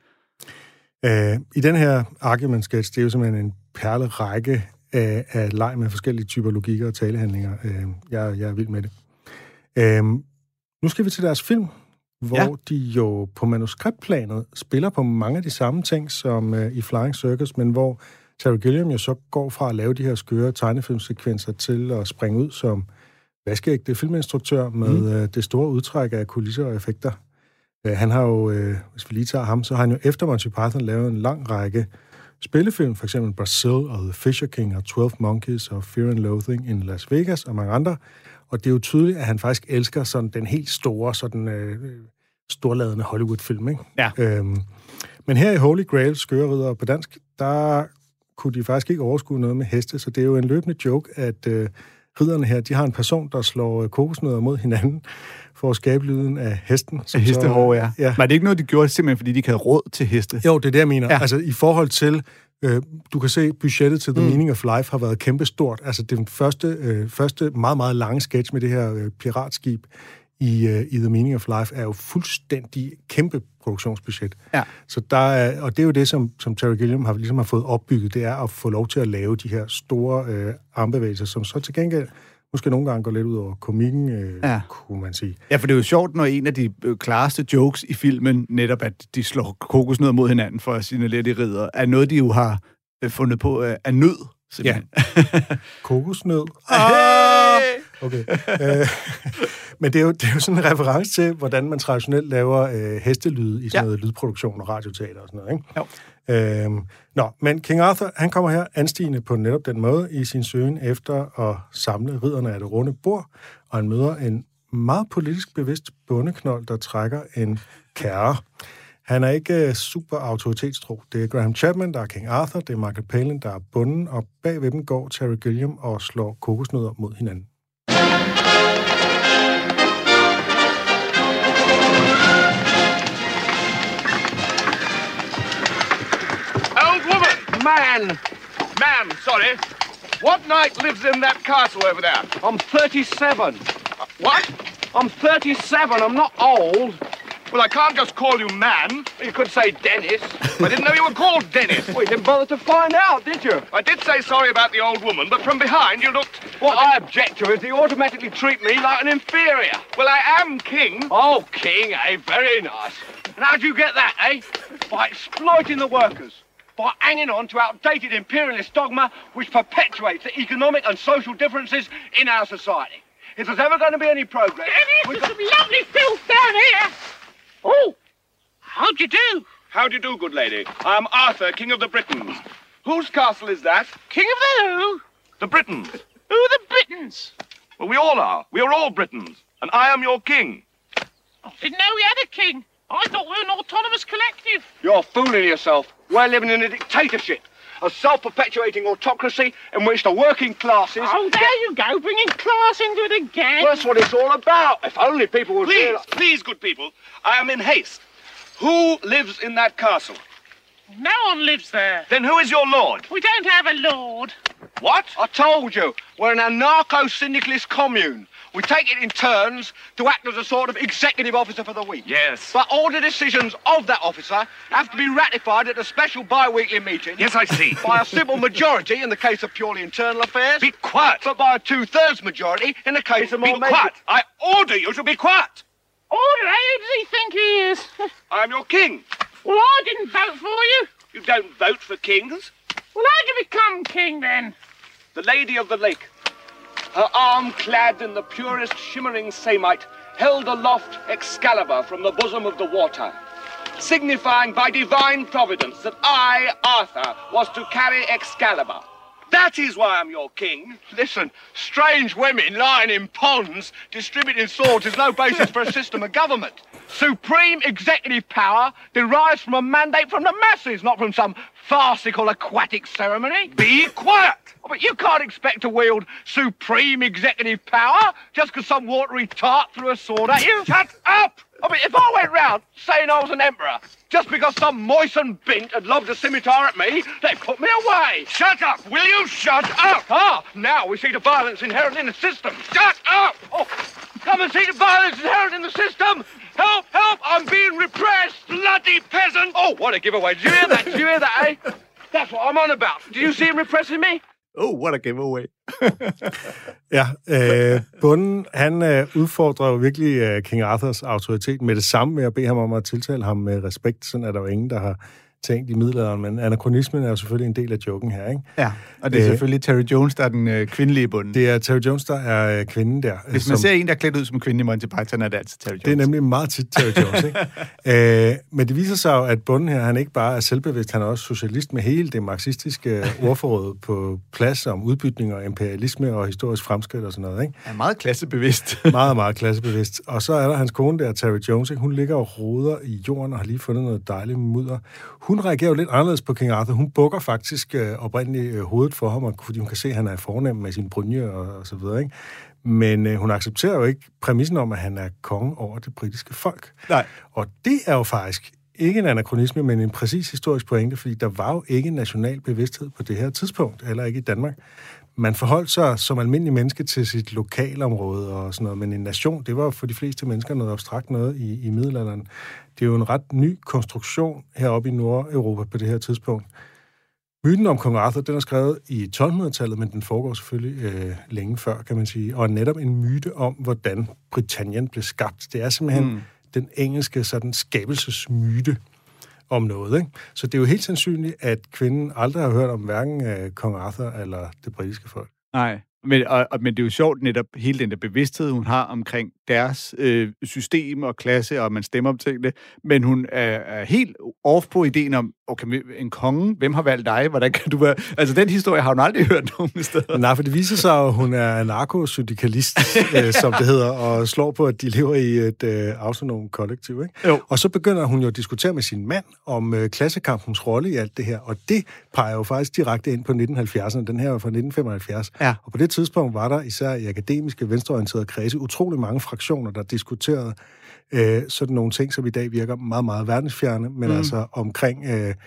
I den her argument-sketch, det er jo simpelthen en perlerække af leg med forskellige typer logikker og talehandlinger. Jeg er vild med det. Nu skal vi til deres film, hvor de jo på manuskriptplanet spiller på mange af de samme ting som i Flying Circus, men hvor Terry Gilliam jo så går fra at lave de her skøre tegnefilmsekvenser til at springe ud som vaskeægte filminstruktør med det store udtræk af kulisser og effekter. Han har jo, hvis vi lige tager ham, så har han jo efter Monty Python lavet en lang række spillefilm, for eksempel Brazil og The Fisher King og 12 Monkeys og Fear and Loathing in Las Vegas og mange andre. Og det er jo tydeligt, at han faktisk elsker sådan den helt store, sådan storladende Hollywood-film, ikke? Ja. Men her i Holy Grail, skøre ridder på dansk, der kunne de faktisk ikke overskue noget med heste, så det er jo en løbende joke, at ridderne her, de har en person, der slår kokosnødder mod hinanden for at skabe lyden af hesten. Hestehår, ja. Var det ikke noget, de gjorde simpelthen, fordi de ikke havde råd til heste? Jo, det er det, jeg mener. Ja. Altså, i forhold til, du kan se, budgettet til The Meaning of Life har været kæmpestort. Altså, den første meget, meget lange sketch med det her piratskib i The Meaning of Life er jo fuldstændig kæmpe produktionsbudget. Ja. Så og det er jo det, som Terry Gilliam har fået opbygget, det er at få lov til at lave de her store armbevægelser, som så til gengæld måske nogle gange går lidt ud over komikken, kunne man sige. Ja, for det er jo sjovt, når en af de klareste jokes i filmen, netop at de slår kokosnødder mod hinanden for at signalere de ridder, er noget, de jo har fundet på af nød, simpelthen. Ja. Kokosnød. Okay. Men det er jo sådan en reference til, hvordan man traditionelt laver hestelyde i sådan noget lydproduktion og radioteater og sådan noget, ikke? Jo. Men King Arthur, han kommer her anstigende på netop den måde i sin søgen efter at samle ridderne af det runde bord, og han møder en meget politisk bevidst bondeknold, der trækker en kærre. Han er ikke super autoritetstro. Det er Graham Chapman, der er King Arthur, det er Michael Palin, der er bunden, og bag ved dem går Terry Gilliam og slår kokosnødder mod hinanden. Old woman! Man, sorry. What knight lives in that castle over there? I'm 37. What? I'm 37. I'm not old. Well, I can't just call you man. You could say Dennis. I didn't know you were called Dennis. Well, you didn't bother to find out, did you? I did say sorry about the old woman, but from behind you looked... What I object to is they automatically treat me like an inferior. Well, I am king. Oh, king, eh? Very nice. And how'd you get that, eh? By exploiting the workers. By hanging on to outdated imperialist dogma which perpetuates the economic and social differences in our society. If there's ever going to be any progress... Dennis, there's some lovely filth down here. Oh! How'd you do? How do you do, good lady? I am Arthur, King of the Britons. Whose castle is that? King of the who? The Britons. Who are the Britons? Well, we all are. We are all Britons. And I am your king. I didn't know we had a king. I thought we were an autonomous collective. You're fooling yourself. We're living in a dictatorship. A self-perpetuating autocracy in which the working classes... Oh, there you go, bringing class into it again. Well, that's what it's all about. If only people would... Please, good people. I am in haste. Who lives in that castle? No one lives there. Then who is your lord? We don't have a lord. What? I told you, we're an anarcho-syndicalist commune. We take it in turns to act as a sort of executive officer for the week. Yes. But all the decisions of that officer have to be ratified at a special bi-weekly meeting. Yes, I see. By a simple majority in the case of purely internal affairs. Be quiet. But by a 2/3 majority in the case of more... Be quiet. I order you to be quiet. Order? Who does he think he is? I am your king. Well, I didn't vote for you. You don't vote for kings. Well, how'd you become king then? The Lady of the Lake, her arm clad in the purest shimmering samite, held aloft Excalibur from the bosom of the water, signifying by divine providence that I, Arthur, was to carry Excalibur. That is why I'm your king. Listen, strange women lying in ponds distributing swords is no basis for a system of government. Supreme executive power derives from a mandate from the masses, not from some farcical aquatic ceremony. Be quiet! Oh, but you can't expect to wield supreme executive power just because some watery tart threw a sword at you. Shut up! I mean, if I went round saying I was an emperor just because some moistened bint had lobbed a scimitar at me, they'd put me away. Shut up! Will you shut up? Ah, now we see the violence inherent in the system. Shut up! Oh, come and see the violence inherent in the system. Help, help, I'm being repressed. Bloody peasant! Oh, what a giveaway. Did you hear that? Did you hear that, eh? That's what I'm on about. Do you see him repressing me? Oh, what a giveaway. Ja, bunden, han udfordrer jo virkelig King Arthurs autoritet med det samme med at bede ham om at tiltale ham med respekt. Sådan er der jo ingen, der har tænkt i middelalderen, men anakronismen er jo selvfølgelig en del af joken her, ikke? Ja, og det er selvfølgelig Terry Jones, der er den kvindelige bunden. Det er Terry Jones, der er kvinden der. Hvis man ser en, der er klædt ud som kvinde i Monty Python, er det altid Terry Jones. Det er nemlig meget tit Terry Jones, ikke? Men det viser sig jo, at bunden her, han ikke bare er selvbevidst, han er også socialist med hele det marxistiske ordforråd på plads om udbytning og imperialisme og historisk fremskridt og sådan noget, ikke? Han er meget klassebevidst. meget, meget klassebevidst. Og så er der hans kone der, Terry Jones, ikke? Hun ligger og roder i jorden og har lige fundet noget dejligt mudder. Hun reagerer jo lidt anderledes på King Arthur. Hun bukker faktisk oprindeligt hovedet for ham, fordi hun kan se, at han er fornem med sin brynje og så videre, ikke? Men hun accepterer jo ikke præmissen om, at han er konge over det britiske folk. Nej. Og det er jo faktisk ikke en anakronisme, men en præcis historisk pointe, fordi der var jo ikke national bevidsthed på det her tidspunkt, eller ikke i Danmark. Man forholdt sig som almindelig menneske til sit lokalområde og sådan noget, men en nation, det var for de fleste mennesker noget abstrakt noget i middelalderen. Det er jo en ret ny konstruktion heroppe i Nordeuropa på det her tidspunkt. Myten om kong Arthur, den er skrevet i 1200-tallet, men den foregår selvfølgelig længe før, kan man sige, og er netop en myte om, hvordan Britannien blev skabt. Det er simpelthen den engelske sådan skabelsesmyte om noget, ikke? Så det er jo helt sandsynligt, at kvinden aldrig har hørt om hverken kong Arthur eller det britiske folk. Nej, Men det er jo sjovt netop hele den der bevidsthed, hun har omkring deres system og klasse, og man stemmer om tingene. Men hun er helt off på ideen om, okay, en konge, hvem har valgt dig? Hvordan kan du være... Altså, den historie har hun aldrig hørt nogen steder. Nej, for det viser sig, at hun er narkosyndikalist, som det hedder, og slår på, at de lever i et autonom kollektiv. Ikke? Jo. Og så begynder hun jo at diskutere med sin mand om klassekampens rolle i alt det her, og det peger jo faktisk direkte ind på 1970'erne. Den her var fra 1975. Ja. Og på det tidspunkt var der især i akademiske, venstreorienterede kredse utrolig mange fraktioner, der diskuterede sådan nogle ting, som i dag virker meget, meget verdensfjerne, men altså omkring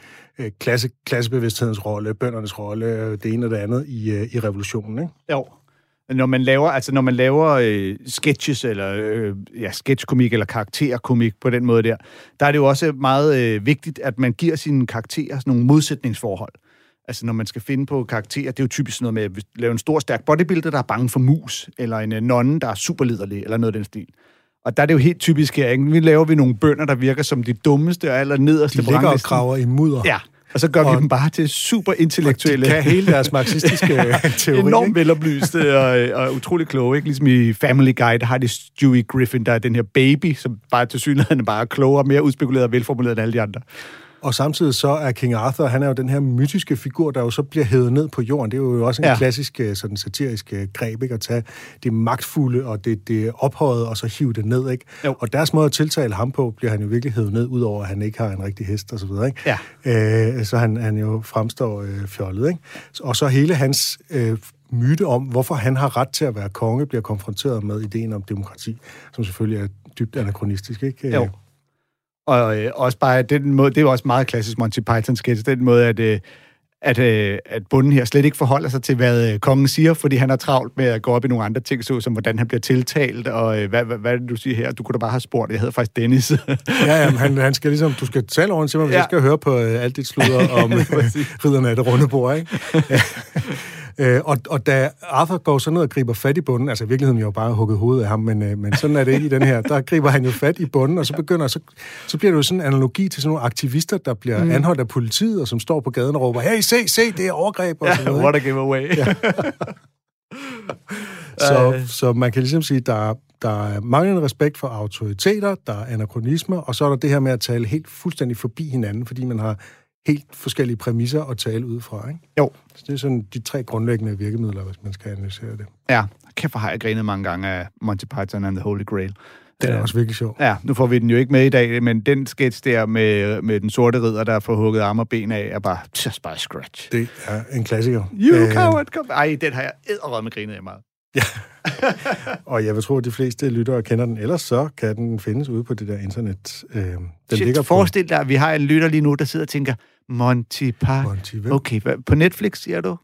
klassebevidsthedens rolle, bøndernes rolle, det ene og det andet i revolutionen, ikke? Jo. Når man laver sketches, eller sketchkomik, eller karakterkomik på den måde der er det jo også meget vigtigt, at man giver sine karakterer sådan nogle modsætningsforhold. Altså, når man skal finde på karakterer, det er jo typisk noget med at lave en stor, stærk bodybuilder, der er bange for mus, eller en nonne, der er superliderlig, eller noget af den stil. Og der er det jo helt typisk her, ikke? Vi laver nogle bønder, der virker som de dummeste og aller nederste. De ligger og graver i mudder. Ja, og så gør vi dem bare til super intellektuelle. De kan hele deres marxistiske teori. Enormt veloplyste og utrolig kloge, ikke? Ligesom i Family Guy, der har de Stewie Griffin, der er den her baby, som bare til synligheden bare er klogere, mere udspekuleret og velformuleret end alle de andre. Og samtidig så er King Arthur, han er jo den her mytiske figur, der jo så bliver hævet ned på jorden. Det er jo også en klassisk sådan satirisk greb, ikke? At tage det magtfulde og det ophøjede, og så hive det ned, ikke? Jo. Og deres måde at tiltale ham på, bliver han jo virkelig hævet ned, udover at han ikke har en rigtig hest og så videre, ikke? Ja. Så han jo fremstår fjollet, ikke? Og så hele hans myte om, hvorfor han har ret til at være konge, bliver konfronteret med ideen om demokrati, som selvfølgelig er dybt anakronistisk, ikke? Jo. Og også bare den måde, det er jo også meget klassisk Monty Python-sketch, den måde, at bunden her slet ikke forholder sig til, hvad kongen siger, fordi han er travlt med at gå op i nogle andre ting, så som hvordan han bliver tiltalt, og hvad er det, du siger her? Du kunne da bare have spurgt, jeg hedder faktisk Dennis. Jamen, han skal ligesom, du skal tale over til mig, hvis jeg skal høre på alt dit sludder om ridderne af det runde bord, ikke? Og da Arthur går så ned og griber fat i bunden, altså i virkeligheden jo bare hugget hovedet af ham, men sådan er det ikke i den her, der griber han jo fat i bunden, og så bliver det jo sådan en analogi til sådan nogle aktivister, der bliver anholdt af politiet, og som står på gaden og råber, hey, se, det er overgreb, og sådan noget. What a giveaway. Ja. Så man kan ligesom sige, der er manglende respekt for autoriteter, der er anachronismer, og så er der det her med at tale helt fuldstændig forbi hinanden, fordi man har helt forskellige præmisser at tale ud fra, ikke? Jo. Så det er sådan de 3 grundlæggende virkemidler, hvis man skal analysere det. Ja, kæft hvor har jeg grinet mange gange af Monty Python and the Holy Grail. Den er også virkelig sjov. Ja, nu får vi den jo ikke med i dag, men den sketch der med den sorte ridder, der får hugget arme og ben af, er bare just by scratch. Det er en klassiker. You coward, come... Ej, den har jeg edderrømme grinet af meget. Ja. Og jeg vil tro, at de fleste lyttere kender den. Ellers så kan den findes ude på det der internet. Den ligger forestil dig, at vi har en lytter lige nu, der sidder og tænker, Monty Python. Okay, på Netflix, siger du?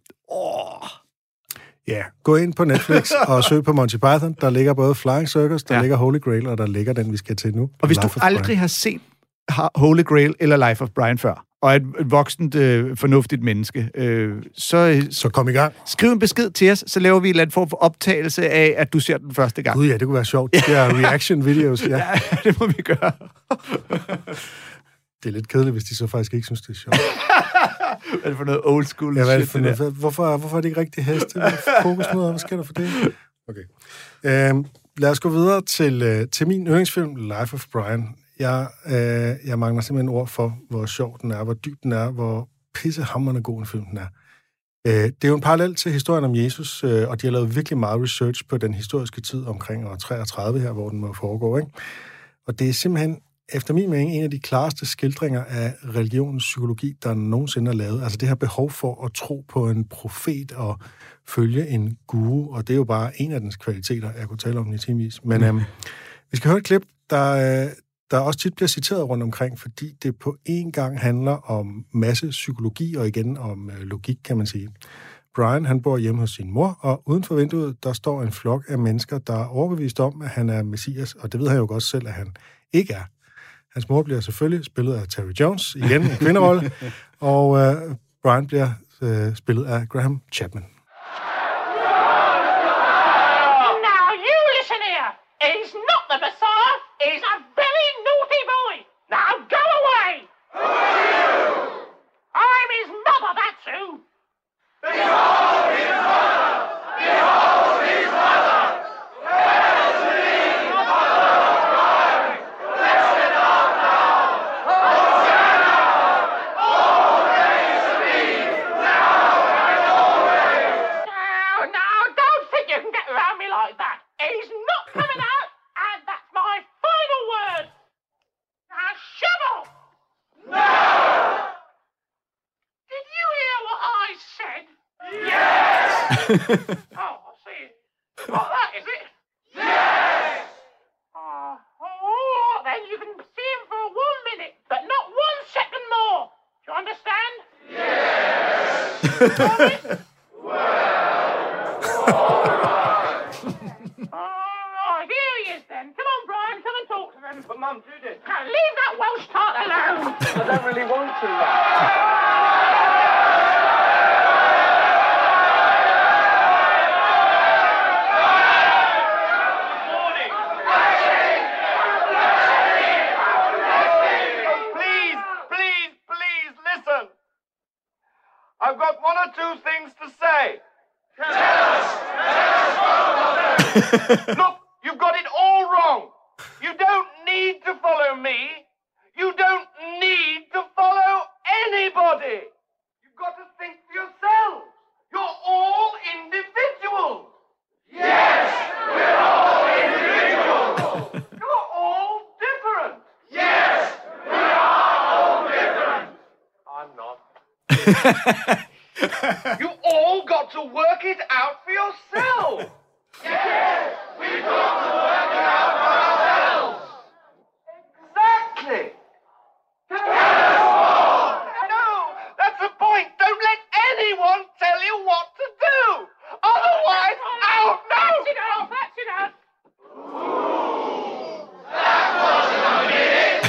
Ja, gå ind på Netflix og søg på Monty Python. Der ligger både Flying Circus, der ligger Holy Grail, og der ligger den, vi skal til nu. Og hvis du aldrig har set Holy Grail eller Life of Brian før, og er et voksent, fornuftigt menneske, så kom i gang. Skriv en besked til os, så laver vi en eller anden form for optagelse af, at du ser den første gang. Gud ja, det kunne være sjovt. Det er reaction-videos. Ja. Ja, det må vi gøre. Det er lidt kedeligt, hvis de så faktisk ikke synes, det er sjovt. Hvad er det for noget old school shit? Ja, det for noget? Hvorfor er det ikke rigtig heste? Fokusmøder, hvad sker der for det? Okay. Lad os gå videre til min yndlingsfilm, Life of Brian. Jeg mangler simpelthen ord for, hvor sjov den er, hvor dyb den er, hvor pissehamrende god en film den er. Det er jo en parallel til historien om Jesus, og de har lavet virkelig meget research på den historiske tid omkring år 33 her, hvor den må foregå, ikke? Og det er simpelthen, efter min mening, en af de klareste skildringer af religionens psykologi, der nogensinde er lavet. Altså det her behov for at tro på en profet og følge en guru, og det er jo bare en af dens kvaliteter, jeg kunne tale om i timevis. Men vi skal høre et klip, der også tit bliver citeret rundt omkring, fordi det på en gang handler om masse psykologi, og igen om logik, kan man sige. Brian, han bor hjemme hos sin mor, og uden for vinduet, der står en flok af mennesker, der er overbevist om, at han er messias, og det ved han jo godt selv, at han ikke er. Hans mor bliver selvfølgelig spillet af Terry Jones, igen en kvinderolle, og Brian bliver spillet af Graham Chapman. Now you listen here. He's not the Messiah. He's a very naughty boy. Now go away. Who are you? I'm his mother, that's who. Behold his mother! Behold! I see. Got that, is it? Yes! Then you can see him for 1 minute, but not 1 second more. Do you understand? Yes! Promise? All right, here he is then. Come on, Brian, come and talk to them. But, Mum, do this. Now, leave that Welsh tart alone. I don't really want to. Please, listen. I've got 1 or 2 things to say. Look, you've got it all wrong. You don't need to follow me. You don't need to follow anybody. You've got to think for yourselves. You're all individuals. Yes, we're all individuals. You're all different. Yes, we are all different. I'm not. You all got to work it out for yourselves. Yes, we've got to work it out for ourselves. Exactly. No, that's the point. Don't let anyone tell you what to do. Otherwise, out. No. That's enough. That wasn't a minute.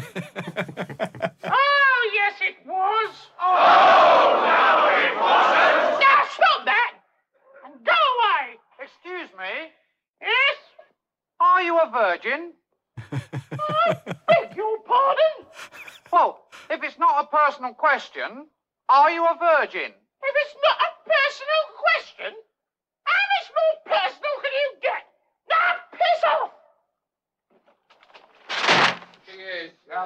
Oh, yes, it was. Oh, no, it wasn't. Now, stop that. And go away. Excuse me. Yes? Are you a virgin? I beg your pardon? Well, if it's not a personal question, are you a virgin? If it's not a personal question, how much more personal can you get? Now, piss off! She is.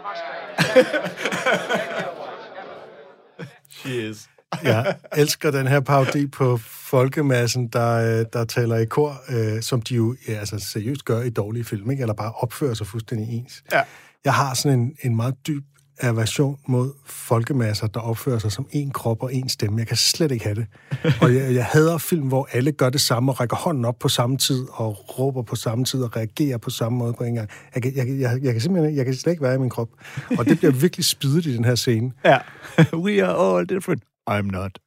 She is. Jeg elsker den her parodi på folkemassen, der taler i kor, som de jo altså seriøst gør i dårlige film, ikke? Eller bare opfører sig fuldstændig ens. Ja. Jeg har sådan en meget dyb aversion mod folkemasser, der opfører sig som en krop og en stemme. Jeg kan slet ikke have det. Og jeg hader film, hvor alle gør det samme og rækker hånden op på samme tid og råber på samme tid og reagerer på samme måde på en gang. Jeg kan simpelthen jeg kan slet ikke være i min krop. Og det bliver virkelig spidet i den her scene. Ja. We are all different. I'm not.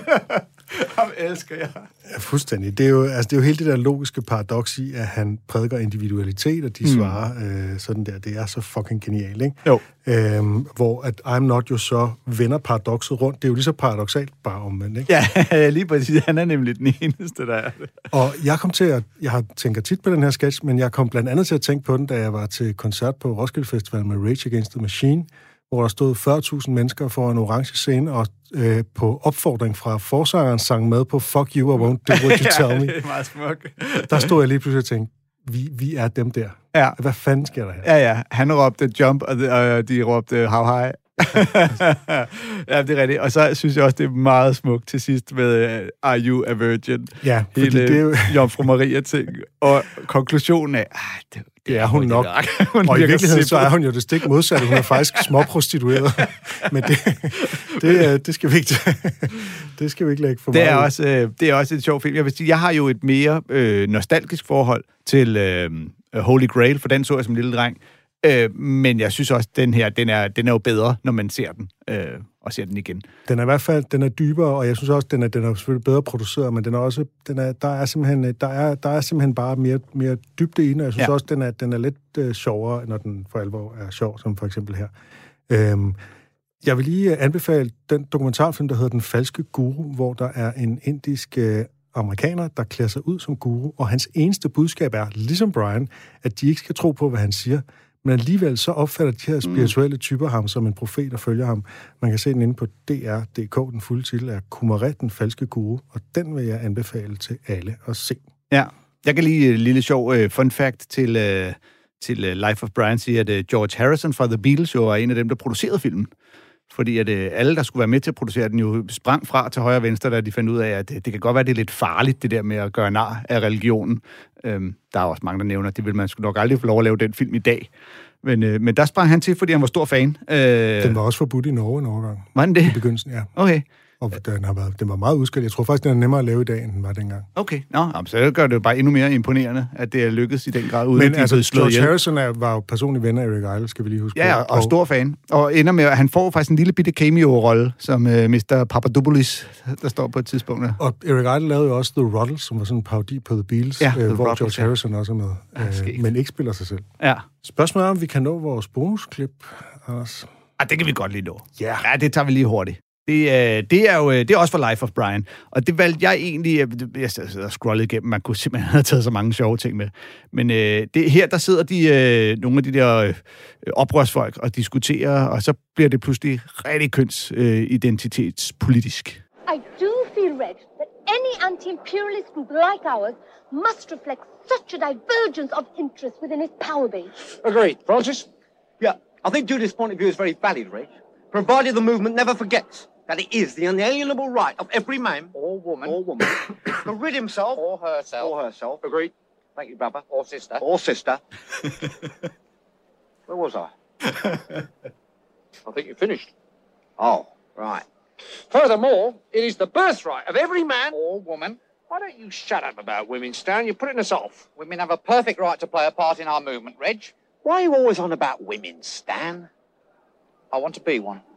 Ham elsker jeg. Ja, fuldstændig. Det er jo hele det der logiske paradoks i, at han prædiker individualitet, og de svarer sådan der. Det er så fucking genialt, ikke? Jo. Hvor at I'm not jo så vender paradokset rundt. Det er jo lige så paradoksalt, bare omvendt, ikke? Ja, lige præcis. Han er nemlig den eneste, der er det. Og jeg har tænkt tit på den her sketch, men jeg kom blandt andet til at tænke på den, da jeg var til koncert på Roskilde Festival med Rage Against the Machine, hvor der stod 40.000 mennesker for en orange scene, og på opfordring fra forsangeren sang med på Fuck You, I Won't Do What You Tell Me. Det er meget smukt. Der stod jeg lige pludselig og tænkte, vi er dem der. Ja. Hvad fanden sker der her? Ja. Han råbte jump, og de råbte how high. Ja, det er rigtigt. Og så synes jeg også, det er meget smukt til sidst med Are You a Virgin? Ja, fordi hele det er jo... Jomfru Maria-ting. Og konklusionen er, det er hun nok. Og i virkeligheden så er hun jo det stik modsatte. Hun er faktisk småprostitueret. Men det skal vi ikke det skal vi ikke lægge for meget. Det er også et sjovt film. Jeg vil sige, jeg har jo et mere nostalgisk forhold til Holy Grail, for den så jeg som lille dreng. Men jeg synes også, den her, den er jo bedre, når man ser den, og ser den igen. Den er i hvert fald, den er dybere, og jeg synes også, den er selvfølgelig bedre produceret, men den er også, der er simpelthen bare mere dybde i den, og jeg synes også, den er lidt sjovere, når den for alvor er sjov, som for eksempel her. Jeg vil lige anbefale den dokumentarfilm, der hedder Den Falske Guru, hvor der er en indisk amerikaner, der klæder sig ud som guru, og hans eneste budskab er, ligesom Brian, at de ikke skal tro på, hvad han siger, men alligevel så opfatter de her spirituelle typer ham som en profet og følger ham. Man kan se den inde på DR.dk. Den fulde titel er Kumaret, den falske guru, og den vil jeg anbefale til alle at se. Ja, jeg kan lige et lille sjov fun fact til Life of Brian, siger, at George Harrison fra The Beatles jo er en af dem, der producerede filmen. Fordi at alle, der skulle være med til at producere den, jo sprang fra til højre og venstre, da de fandt ud af, at det kan godt være, det er lidt farligt, det der med at gøre nar af religionen. Der er også mange, der nævner, at det vil man sgu nok aldrig få lov at lave den film i dag. Men der sprang han til, fordi han var stor fan. Den var også forbudt i Norge en overgang. Var den det? I begyndelsen, ja. Okay. Og den var meget udskilt. Jeg tror faktisk, den er nemmere at lave i dag, end den var dengang. Okay, så gør det jo bare endnu mere imponerende, at det er lykkedes i den grad, uden men at de er slået ihjel. George Harrison var jo personlig ven af Eric Idle, skal vi lige huske. Ja, og stor fan. Og ender med, at han får faktisk en lille bitte cameo-rolle, som Mr. Papadopoulos, der står på et tidspunkt. Og Eric Idle lavede jo også The Ruddles, som var sådan en parodi på The Beatles, hvor George Harrison også er med, men ikke spiller sig selv. Ja. Spørgsmålet er, om vi kan nå vores bonusklip, Anders. Det kan vi godt lige nå. Yeah. Ja, det tager vi lige hurtigt. Det er også for Life of Brian. Og det valgte jeg egentlig... Jeg sidder og scrollede igennem. Man kunne simpelthen have taget så mange sjove ting med. Men her, der sidder nogle af de der oprørsfolk og diskuterer, og så bliver det pludselig rigtig kønsidentitetspolitisk. I do feel, Reg, that any anti-imperialist group like ours must reflect such a divergence of interest within its power base. Agreed. Francis? Yeah, I think Judith's point of view is very valid, Reg. Provided the movement never forgets that it is the unalienable right of every man or woman to rid himself or herself. Agreed. Thank you, brother. Or sister. Where was I? I think you finished. Oh, right. Furthermore, it is the birthright of every man or woman. Why don't you shut up about women, Stan? You're putting us off. Women have a perfect right to play a part in our movement, Reg. Why are you always on about women, Stan? I want to be one.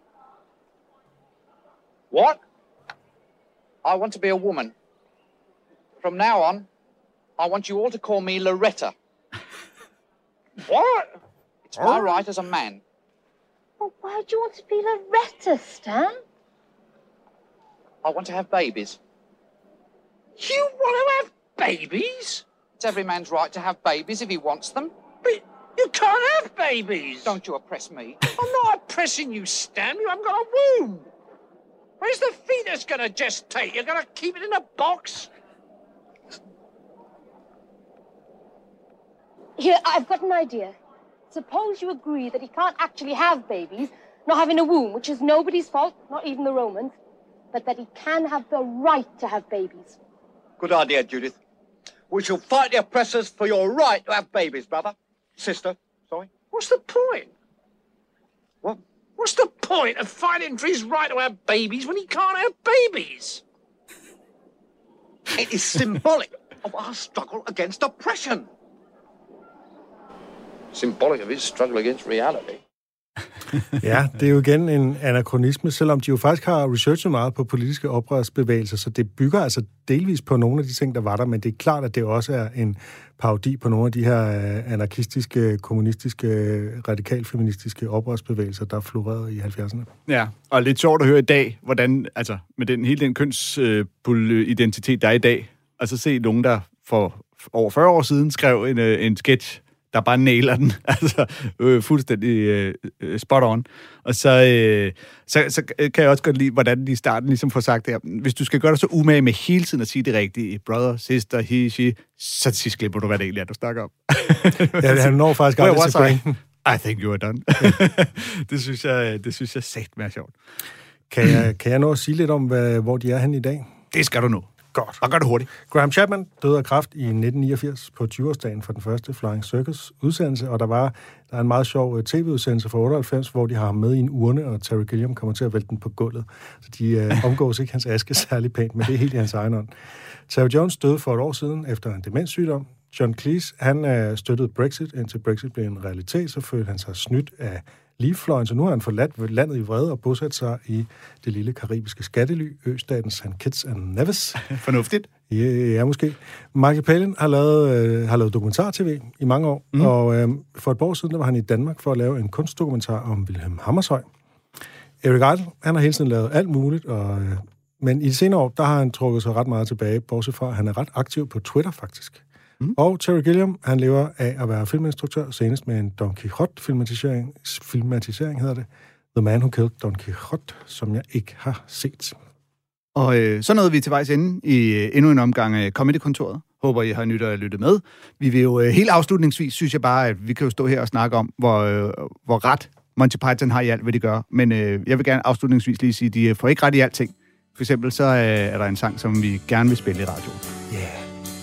What? I want to be a woman. From now on, I want you all to call me Loretta. What? It's my right as a man. Well, why do you want to be Loretta, Stan? I want to have babies. You want to have babies? It's every man's right to have babies if he wants them. But you can't have babies. Don't you oppress me. I'm not oppressing you, Stan. You haven't got a womb. Where's the fetus going to gestate? You're going to keep it in a box? Here, I've got an idea. Suppose you agree that he can't actually have babies, not having a womb, which is nobody's fault, not even the Romans, but that he can have the right to have babies. Good idea, Judith. We shall fight the oppressors for your right to have babies, brother. Sister, sorry. What's the point? What? What's the point of fighting for his right to have babies when he can't have babies? It is symbolic of our struggle against oppression. Symbolic of his struggle against reality. Ja, det er jo igen en anakronisme, selvom de jo faktisk har researchet meget på politiske oprørsbevægelser, så det bygger altså delvis på nogle af de ting, der var der, men det er klart, at det også er en parodi på nogle af de her anarkistiske, kommunistiske, radikal-feministiske oprørsbevægelser, der florerede i 70'erne. Ja, og lidt sjovt at høre i dag, hvordan, altså med hele den kønsidentitet, der er i dag, og så se nogen, der for over 40 år siden skrev en sketch, der bare nailer den, altså fuldstændig spot on. Og så kan jeg også godt lide, hvordan de i starten ligesom får sagt det her. Hvis du skal gøre dig så umage med hele tiden at sige det rigtige, brother, sister, he, she, så til sidst glemmer du, hvad det egentlig er, du snakker om. Ja, han når faktisk aldrig til pointen. I think you are done. Det synes jeg sagt mere sjovt. Kan jeg nå at sige lidt om, hvor de er henne i dag? Det skal du nå. Godt. Og gør det hurtigt. Graham Chapman døde af kræft i 1989 på 20-årsdagen for den første Flying Circus-udsendelse, og der er en meget sjov tv-udsendelse fra 98, hvor de har ham med i en urne, og Terry Gilliam kommer til at vælte den på gulvet. Så de omgås ikke hans aske særlig pænt, men det er helt i hans egen ånd. Terry Jones døde for et år siden efter en demenssygdom. John Cleese, han støttede Brexit, indtil Brexit blev en realitet, så følte han sig snydt af Leave-fløjen, så nu har han forladt landet i vrede og bosat sig i det lille karibiske skattely, østaten St. Kitts and Nevis. Fornuftigt. Ja, måske. Michael Palin har lavet dokumentar-tv i mange år, og for et par år siden der var han i Danmark for at lave en kunstdokumentar om Wilhelm Hammershøi. Eric Idle, han har hele tiden lavet alt muligt, men i de senere år, der har han trukket sig ret meget tilbage, bortset fra, at han er ret aktiv på Twitter, faktisk. Og Terry Gilliam, han lever af at være filminstruktør, senest med en Don Quixote-filmatisering hedder det. The Man Who Killed Don Quixote, som jeg ikke har set. Og så nåede vi til vejs ende i endnu en omgang af Comedy-kontoret. Håber, I har lyttet med. Vi vil jo helt afslutningsvis, synes jeg bare, at vi kan jo stå her og snakke om, hvor ret Monty Python har i alt, hvad de gør. Men jeg vil gerne afslutningsvis lige sige, at de får ikke ret i alting. For eksempel så er der en sang, som vi gerne vil spille i radioen. Yeah.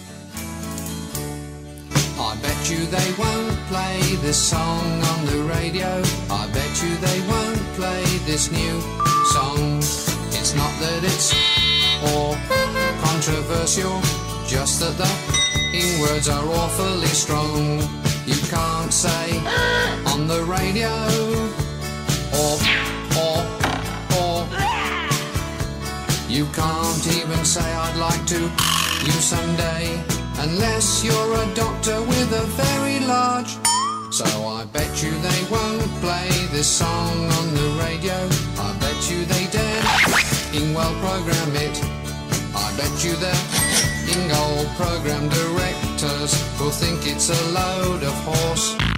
I bet you they won't play this song on the radio. I bet you they won't play this new song. It's It's not that it's or controversial, just that the words are awfully strong. You can't say on the radio or you can't even say I'd like to you someday, unless you're a doctor with a very large. So I bet you they won't play this song on the radio. I bet you they dare well program it. I bet you the old program directors will think it's a load of horse.